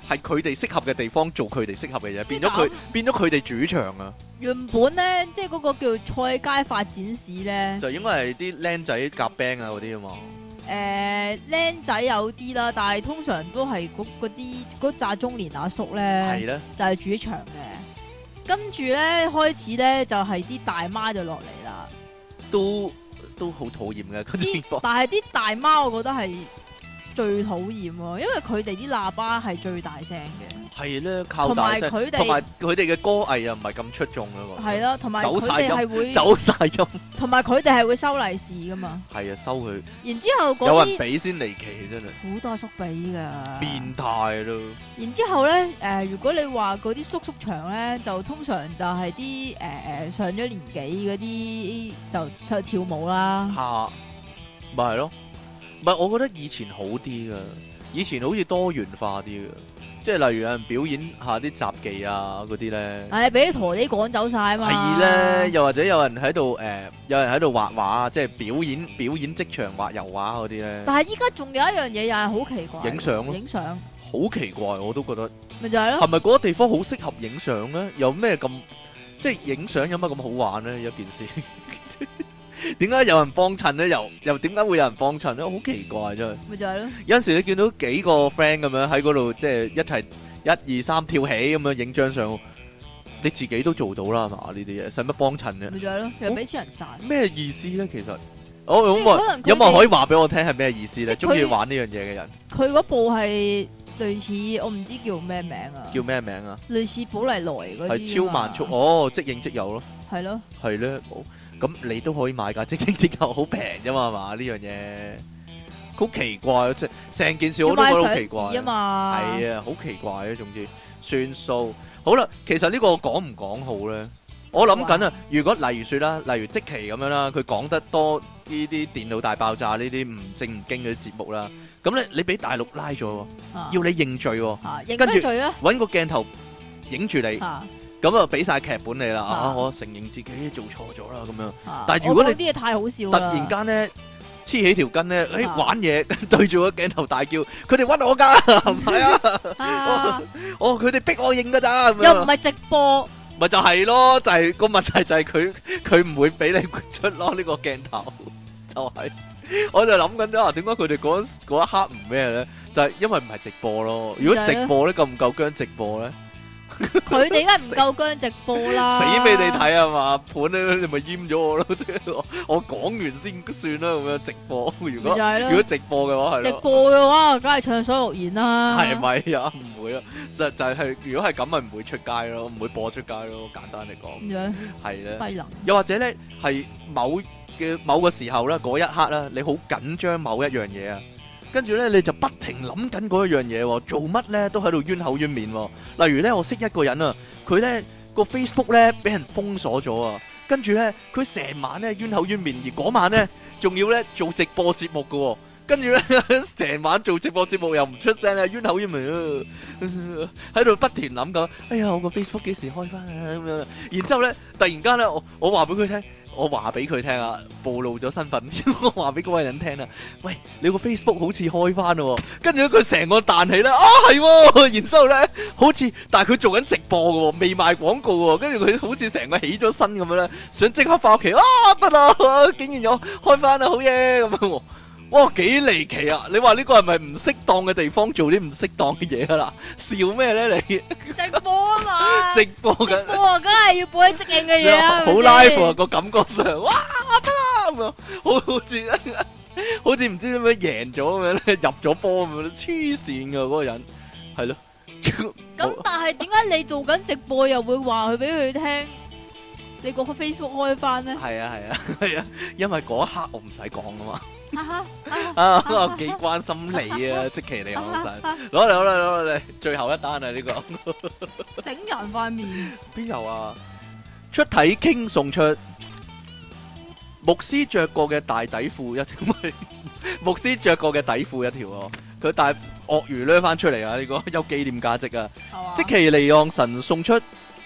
係佢哋適合嘅地方做佢哋適合嘅嘢，變咗即係咁佢變咗佢哋主場啊！ 原本咧，即係嗰個叫菜街發展史咧， 就應該係啲僆仔夾 band 啊嗰啲啊嘛。 誒僆仔有啲啦，但係通常都係嗰嗰啲嗰紮中年阿叔咧， 係咧， 就係主場嘅。跟住咧開始咧就係啲大媽就落嚟啦， 都都好討厭嘅嗰情況。 但係啲大媽我覺得係最討厭喎，因為佢哋啲喇叭係最大聲嘅。 係咧，靠大聲， 同埋佢哋同埋佢哋嘅歌藝又唔係咁出眾啊嘛。 係咯，同埋佢哋係會走晒音， 同埋佢哋係會收利是噶嘛。 係啊，收佢。 然之後嗰啲有人俾先離奇，真係好多叔俾㗎。 變態咯。 然之後咧，誒、呃，如果你話嗰啲叔叔場咧，就通常就係啲誒誒上咗年紀嗰啲就就跳舞啦。 嚇，咪係咯，唔係我覺得以前好啲噶，以前好似多元化啲噶。即係例如有人表演下啲雜技啊嗰啲咧， 係俾啲陀地趕走晒啊嘛。 係咧，又或者有人喺度誒，有人喺度畫畫，即係表演表演即場畫油畫嗰啲咧。 但係依家仲有一樣嘢又係好奇怪， 影相咯， 影相好奇怪，我都覺得。 咪就係咯。 係咪嗰個地方好適合影相咧？有咩咁即係影相有乜咁好玩咧？一件事。點解有人幫襯咧？又又點解會有人幫襯咧？好奇怪真係。 咪就係咯。 有陣時你見到幾個 friend 咁樣喺嗰度，即係一齊一二三跳起咁樣影張相，你自己都做到啦，係嘛？呢啲嘢使乜幫襯啫？ 咪就係咯，又俾錢人賺。 咩意思咧？其實，我有冇有冇人可以話俾我聽係咩意思咧？ 即係中意玩呢樣嘢嘅人， 佢嗰部係類似我唔知叫咩名啊。 叫咩名啊？ 類似寶麗來嗰啲。 係超慢速哦，即影即有咯。 係咯。 係咧，咁你都可以買㗎，即影即有，好平啫嘛，係嘛？呢樣嘢好奇怪，即成件事我都覺得好奇怪啊嘛。係啊，好奇怪啊，總之算數。好啦，其實呢個講唔講好咧？我諗緊啊，如果例如説啦，例如積淇咁樣啦，佢講得多呢啲電腦大爆炸呢啲唔正唔經嗰啲節目啦，咁咧你俾大陸拉咗， 啊、 要你認罪喎， 啊、認咩罪啊？ 揾個鏡頭影住你。啊咁啊，俾晒劇本你啦，啊，啊，我承認自己做錯咗啦，咁樣。啊、但係如果你啲嘢太好笑， 突然間咧黐起條筋咧，誒、啊、玩嘢對住個鏡頭大叫，佢哋屈我噶，唔係啊，哦，佢哋逼我認噶咋， 又唔係直播， 咪就係咯，就係、是、個問題就係佢佢唔會俾你出咯呢、這個鏡頭，就係、是，我就諗緊咗啊，點解佢哋嗰嗰一刻唔咩咧？就係、是、因為唔係直播咯，如果直播咧夠唔夠薑直播咧？ 佢哋梗係唔夠薑直播啦， 死俾你睇啊嘛，盤咧你咪閹咗我咯，我講完先算啦，咁樣直播。如果如果直播嘅話係，直播嘅話梗係暢所欲言啦。係咪啊？唔會啊，就就係如果係咁咪唔會出街咯，唔會播出街咯。簡單嚟講，咁樣係咧。低能。又或者咧係某嘅某個時候咧，嗰一刻咧，你好緊張某一樣嘢啊。跟住咧，你就不停諗緊嗰一樣嘢，做乜咧都喺度冤口冤面。例如咧，我識一個人啊，佢咧個 Facebook 咧俾人封鎖咗啊，跟住咧佢成晚咧冤口冤面，而嗰晚咧仲要咧做直播節目噶，跟住咧成晚做直播節目又唔出聲咧，冤口冤面啊，喺度不停諗緊，哎呀，我個 Facebook 幾時開翻啊咁樣。然之後咧，突然間咧，我我話俾佢聽。我話俾佢聽啊，暴露咗身份。我話俾嗰位人聽啊，喂，你個 Facebook 好似開翻咯，跟住佢成個彈起啦，啊係，然之後咧，好似但係佢做緊直播嘅，未賣廣告嘅，跟住佢好似成個起咗身咁樣咧，想即刻翻屋企，啊得啦，竟然有開翻啦，好嘢咁樣。哇，幾離奇啊！你話呢個係咪唔適當嘅地方做啲唔適當嘅嘢啊啦？笑咩咧你？直播啊嘛！直播緊，直播啊，梗係要播啲即興嘅嘢啊！好 live 啊，個感覺上，哇得啦咁樣，好好似好似唔知點樣贏咗咁樣咧，入咗波咁樣，黐線噶嗰個人，係咯。 咁但係點解你做緊直播又會話佢俾佢聽？你個 Facebook 開翻咧？係啊係啊係啊，因為嗰一刻我唔使講噶嘛。啊！我幾關心你啊，積淇離岸神，攞嚟攞嚟攞嚟，最後一單啊！呢個整人塊面邊有啊？出體傾送出牧師着過嘅大底褲一條，牧師着過嘅底褲一條哦。佢帶鱷魚掠翻出嚟啊！呢個有紀念價值啊！積淇離岸神送出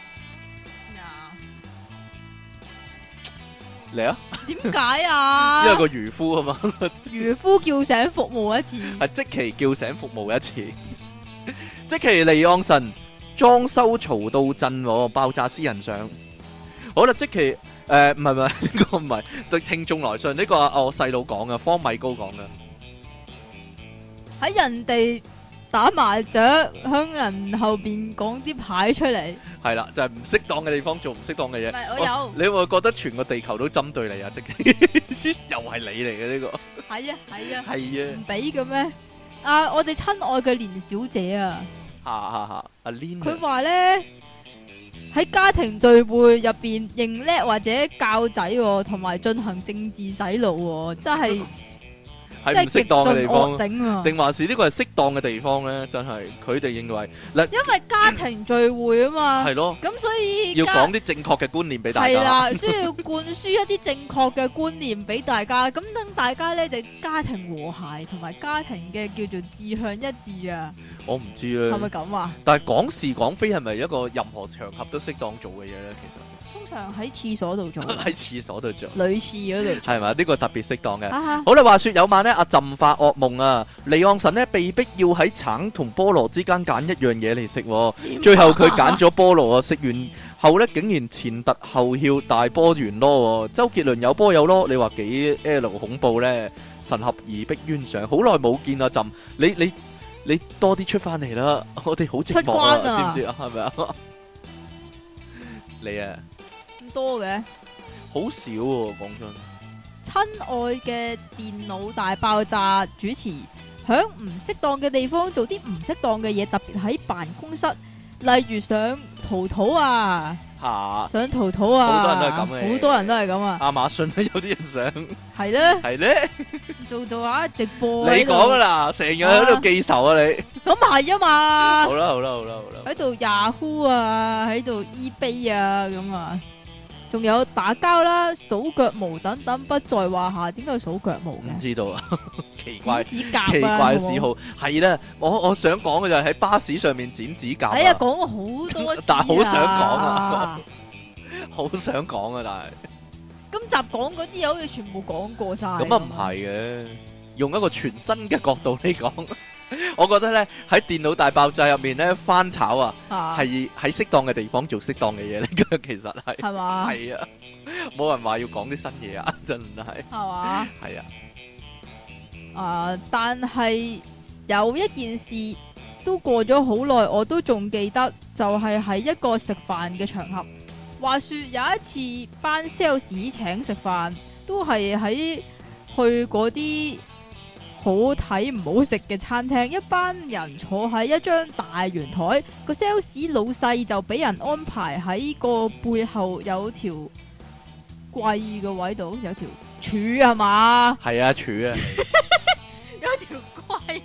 嚟啊！點解啊？因為個漁夫啊嘛，漁夫叫醒服務一次，係積淇叫醒服務一次。 積淇離岸神裝修嘈到震喎，爆炸私人相。好啦，積淇誒唔係唔係呢個唔係對聽眾來信，呢個係我細佬講嘅，方米高講嘅。 喺人哋打麻雀，向人後邊講啲牌出嚟。 係啦，就係唔適當嘅地方做唔適當嘅嘢。 唔係我有， 你會覺得全個地球都針對你啊！積淇又係你嚟嘅呢個。 係啊係啊。 係啊。 唔俾嘅咩？啊，我哋親愛嘅連小姐啊。 嚇嚇嚇！阿 Lin 佢話咧喺家庭聚會入邊認叻或者教仔同埋進行政治洗腦，真係係唔適當嘅地方， 頂啊！ 定還是呢個係適當嘅地方咧？真係佢哋認為嗱， 因為家庭聚會啊嘛， 係咯， 咁所以要講啲正確嘅觀念俾大家。 係啦，需要灌輸一啲正確嘅觀念俾大家，咁等大家咧就家庭和諧同埋家庭嘅叫做志向一致啊！ 我唔知咧， 係咪咁啊？ 但係講是講非係咪一個任何場合都適當做嘅嘢咧？其實通常喺廁所度做， 喺廁所度做， 女廁嗰度做， 係咪？呢個特別適當嘅。 啊、 好啦，話說有晚呢，阿朕發惡夢啊，離岸神呢被逼要喺橙同菠蘿之間揀一樣嘢嚟食，啊、最後佢揀咗菠蘿啊，食完後呢，竟然前凸後翹大波圓囉，周杰倫有波有囉，你話幾 L 恐怖呢？神合而逼冤上，好耐冇見啊朕，你你你多啲出翻嚟啦，我哋好寂寞啊，知唔知啊？係咪啊？你啊？ 多嘅， 好少喎，講真。 親愛嘅電腦大爆炸主持，響唔適當嘅地方做啲唔適當嘅嘢，特別喺辦公室，例如上淘淘啊， 吓上淘淘啊， 好多人都係咁嘅， 好多人都係咁啊。 亞馬遜咧有啲人想， 係咧， 係咧， 做做下直播。 你講噶啦，成日喺度記仇啊你。 咁係啊嘛。 好啦好啦好啦好啦。 喺度 Yahoo 啊，喺度 eBay 啊咁啊。仲有打交啦、數腳毛等等不在話下。點解要數腳毛嘅？ 唔知道啊，奇怪， 剪指甲啊， 奇怪嘅嗜好係啦。我我想講嘅就係喺巴士上面剪指甲。 哎呀，講過好多次， 但係好想講啊，好想講啊，但係今集講嗰啲嘢好似全部講過晒。 咁啊唔係嘅，用一個全新嘅角度嚟講。我覺得咧喺電腦大爆炸入面咧翻炒啊，係喺適當嘅地方做適當嘅嘢嚟嘅，其實係係嘛？ 係啊，冇人話要講啲新嘢啊，真係係嘛？ 係啊， 啊！但係有一件事都過咗好耐，我都仲記得，就係喺一個食飯嘅場合。話說有一次班 sales 請食飯，都係喺去嗰啲好睇唔好食嘅餐廳，一班人坐喺一張大圓台，個 sales 老細就俾人安排喺個背後有條櫃嘅位度，有條柱係嘛？ 係啊，柱啊， 有條櫃。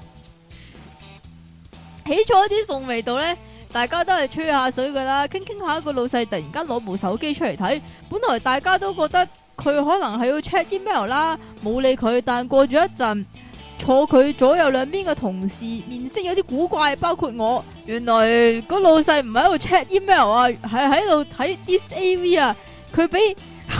起咗啲餸味道呢，大家都係吹下水噶啦，傾傾下個老細突然間攞部手機出嚟睇，本來大家都覺得佢可能係要 check email 啦，冇理佢。但過咗一陣，坐佢左右兩邊嘅同事面色有啲古怪，包括我。原來個老細唔係喺度 check email 啊，係喺度睇 dis A V 啊。佢俾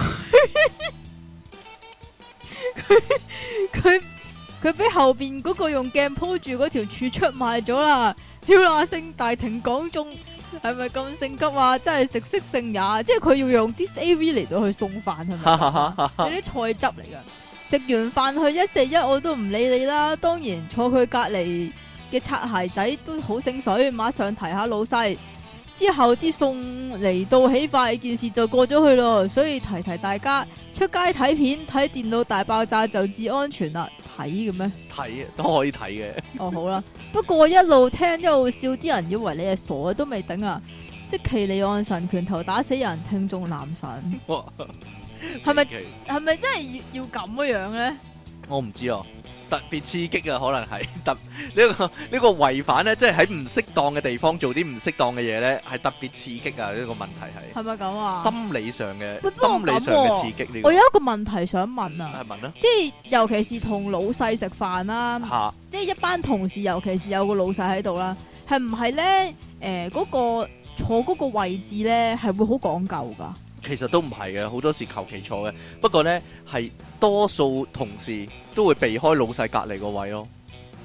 佢佢佢俾後邊嗰個用鏡鋪住嗰條柱出賣咗啦。超那聲大庭廣眾，係咪咁性急啊？真係食色性也，即係佢要用 dis A V 嚟到去送飯，係咪？有啲菜汁嚟噶。食完飯去一四一，我都唔理你啦。當然坐佢隔籬嘅擦鞋仔都好醒水，馬上提下老細。之後啲餸嚟到起快，件事就過咗去咯。所以提提大家，出街睇片睇電腦大爆炸就至安全啦。睇嘅咩？睇都可以睇嘅。 哦，好啦，不過一路聽一路笑，啲人以為你係傻都未頂啊！積淇離岸神拳頭打死人，聽眾男神。係咪係咪真係要要咁嘅樣咧？ 我唔知啊，特別刺激啊，可能係特呢、這個呢、這個違反咧，即係喺唔適當嘅地方做啲唔適當嘅嘢咧，係特別刺激啊！呢、這個問題係係咪咁啊？ 心理上嘅、 啊、 心理上嘅刺激呢、這個。 我有一個問題想問啊， 係問啊， 即係尤其是同老細食飯啦， 啊、 即係一班同事，尤其是有個老細喺度啦，係唔係咧？誒、呃，嗰、那個坐嗰個位置咧，係會好講究噶？ 其實都唔係嘅，好多時求其坐嘅。不過呢，係多數同事都會避開老細隔離個位咯。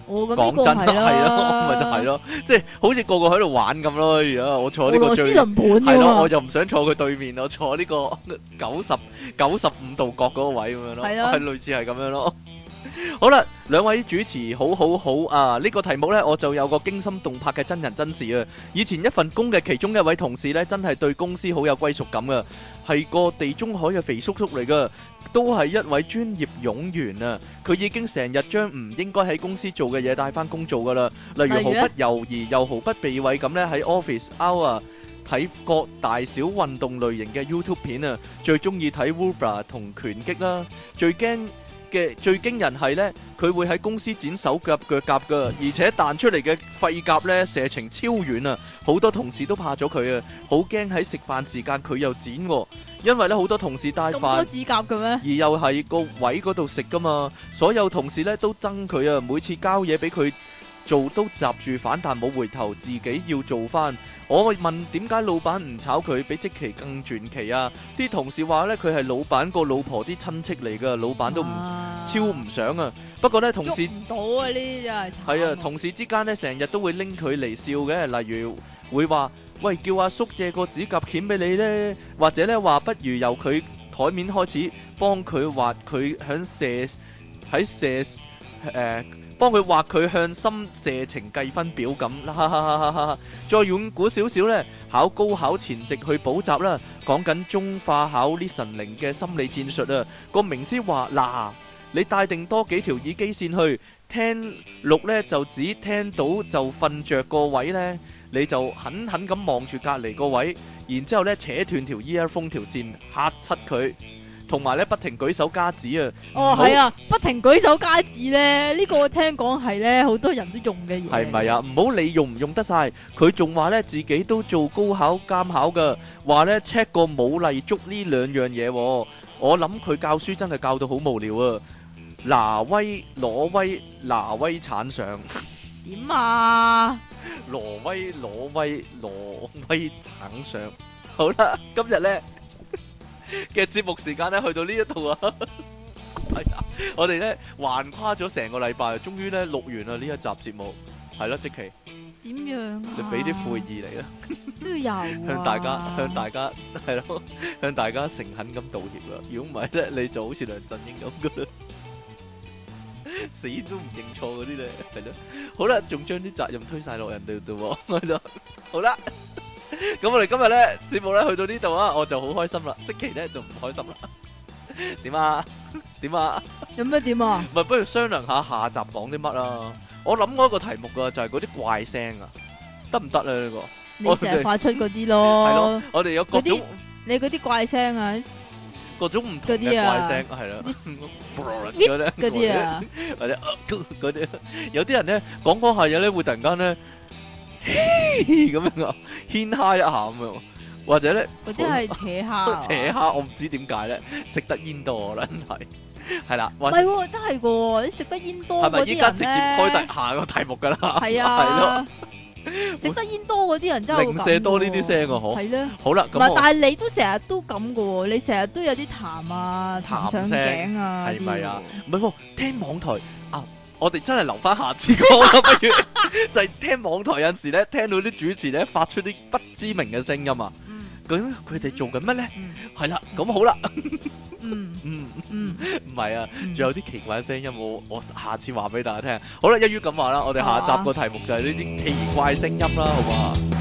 我咁講真係咯，咪就係咯，即係好似個個喺度玩咁咯。而家我坐呢個最係咯，我就唔想坐佢對面，我坐呢個九十九十五度角嗰個位咁樣咯，係類似係咁樣咯。好啦，兩位主持好好好啊！呢個題目呢，我就有個驚心動魄嘅真人真事啊！以前一份工嘅其中一位同事呢，真係對公司好有歸屬感啊，係個地中海嘅肥叔叔嚟噶，都係一位專業冗員啊！佢已經成日將唔應該喺公司做嘅嘢帶翻工做噶啦，例如毫不猶豫又毫不避諱咁呢，喺 office hour睇各大小運動類型嘅 YouTube 片啊，最中意睇 Wubra 同拳擊啦，最驚嘅最驚人係呢，佢會喺公司剪手腳腳甲噶，而且彈出嚟嘅廢甲呢，射程超遠啊！好多同事都怕咗佢啊，好驚喺食飯時間佢又剪，因為呢好多同事帶飯，咁多指甲嘅咩？而又係個位嗰度食噶嘛，所有同事呢都憎佢啊！每次交嘢俾佢做都閘住反彈冇回頭，自己要做翻。我問點解老闆唔炒佢，比積淇更傳奇啊？啲同事話呢，佢係老闆個老婆啲親戚嚟噶，老闆都唔超唔想啊。不過呢，同事唔到啊，呢啲真係係啊，同事之間呢，成日都會拎佢嚟笑嘅，例如會話喂，叫阿叔借個指甲鉗俾你呢，或者呢話不如由佢台面開始幫佢畫佢響射喺射誒。呃幫佢畫佢向心射程計分表咁啦，再遠古少少呢，考高考前夕去補習啦，講緊中化考 listening 嘅心理戰術啊。個名師話嗱，你帶定多幾條耳機線去聽錄呢，就只聽到就瞓着個位呢，你就狠狠咁望住隔離個位，然之後呢扯斷條 earphone 條線嚇柒佢。同埋咧，不停舉手加指啊！ 哦，係啊，不停舉手加指咧，呢個我聽講係咧，好多人都用嘅嘢。 係咪啊？唔好理用唔用得晒，佢仲話咧自己都做高考監考噶，話咧 check 過冇例足呢兩樣嘢。我諗佢教書真係教到好無聊啊！挪威挪威挪威產上點啊？ 挪威挪威挪威產上，好啦，今日咧嘅節目時間咧去到呢一度啊，係啊，我哋咧橫跨咗成個禮拜，終於咧錄完啦呢一集節目，係咯，積淇點樣啊？ 你俾啲悔意嚟啦， 都要有啊， 向大家向大家係咯，向大家誠懇咁道歉啦。如果唔係咧，你就好似梁振英咁噶啦，死都唔認錯嗰啲咧，係咯。好啦，仲將啲責任推晒落人哋度，係咯。好啦。咁我哋今日咧節目咧去到呢度啊，我就好開心啦，積淇咧就唔開心啦。點啊？點啊？ 有咩點啊？ 咪不如商量下下集講啲乜啊？我諗過一個題目噶，就係嗰啲怪聲啊，得唔得咧？呢個你成日發出嗰啲咯。係咯， 我哋有各種你嗰啲怪聲啊， 各種唔同嘅怪聲係啦，嗰啲啊，或者嗰啲，有啲人咧講講下嘢咧會突然間咧。咁樣啊，牽蝦一下咁樣，或者咧嗰啲係扯蝦， 扯蝦我唔知點解咧，食得煙多啦，真係係啦， 唔係喎，真係噶，你食得煙多嗰啲人咧，係咪依家直接開第下個題目噶啦？ 係啊，係咯，食得煙多嗰啲人真係零舍多呢啲聲啊，嗬， 係咧， 好啦， 唔係，但係你都成日都咁噶喎，你成日都有啲痰啊，痰上頸啊， 係咪啊？唔係喎，聽網台啊。我哋真係留翻下次講啦，不如就係聽網台有陣時咧，聽到啲主持咧發出啲不知名嘅聲音啊，究竟佢哋做緊乜咧？係啦，咁好啦，嗯嗯嗯，唔係啊，仲有啲奇怪嘅聲音，我我下次話俾大家聽。好啦，一於咁話啦，我哋下集個題目就係呢啲奇怪聲音啦，好唔好啊？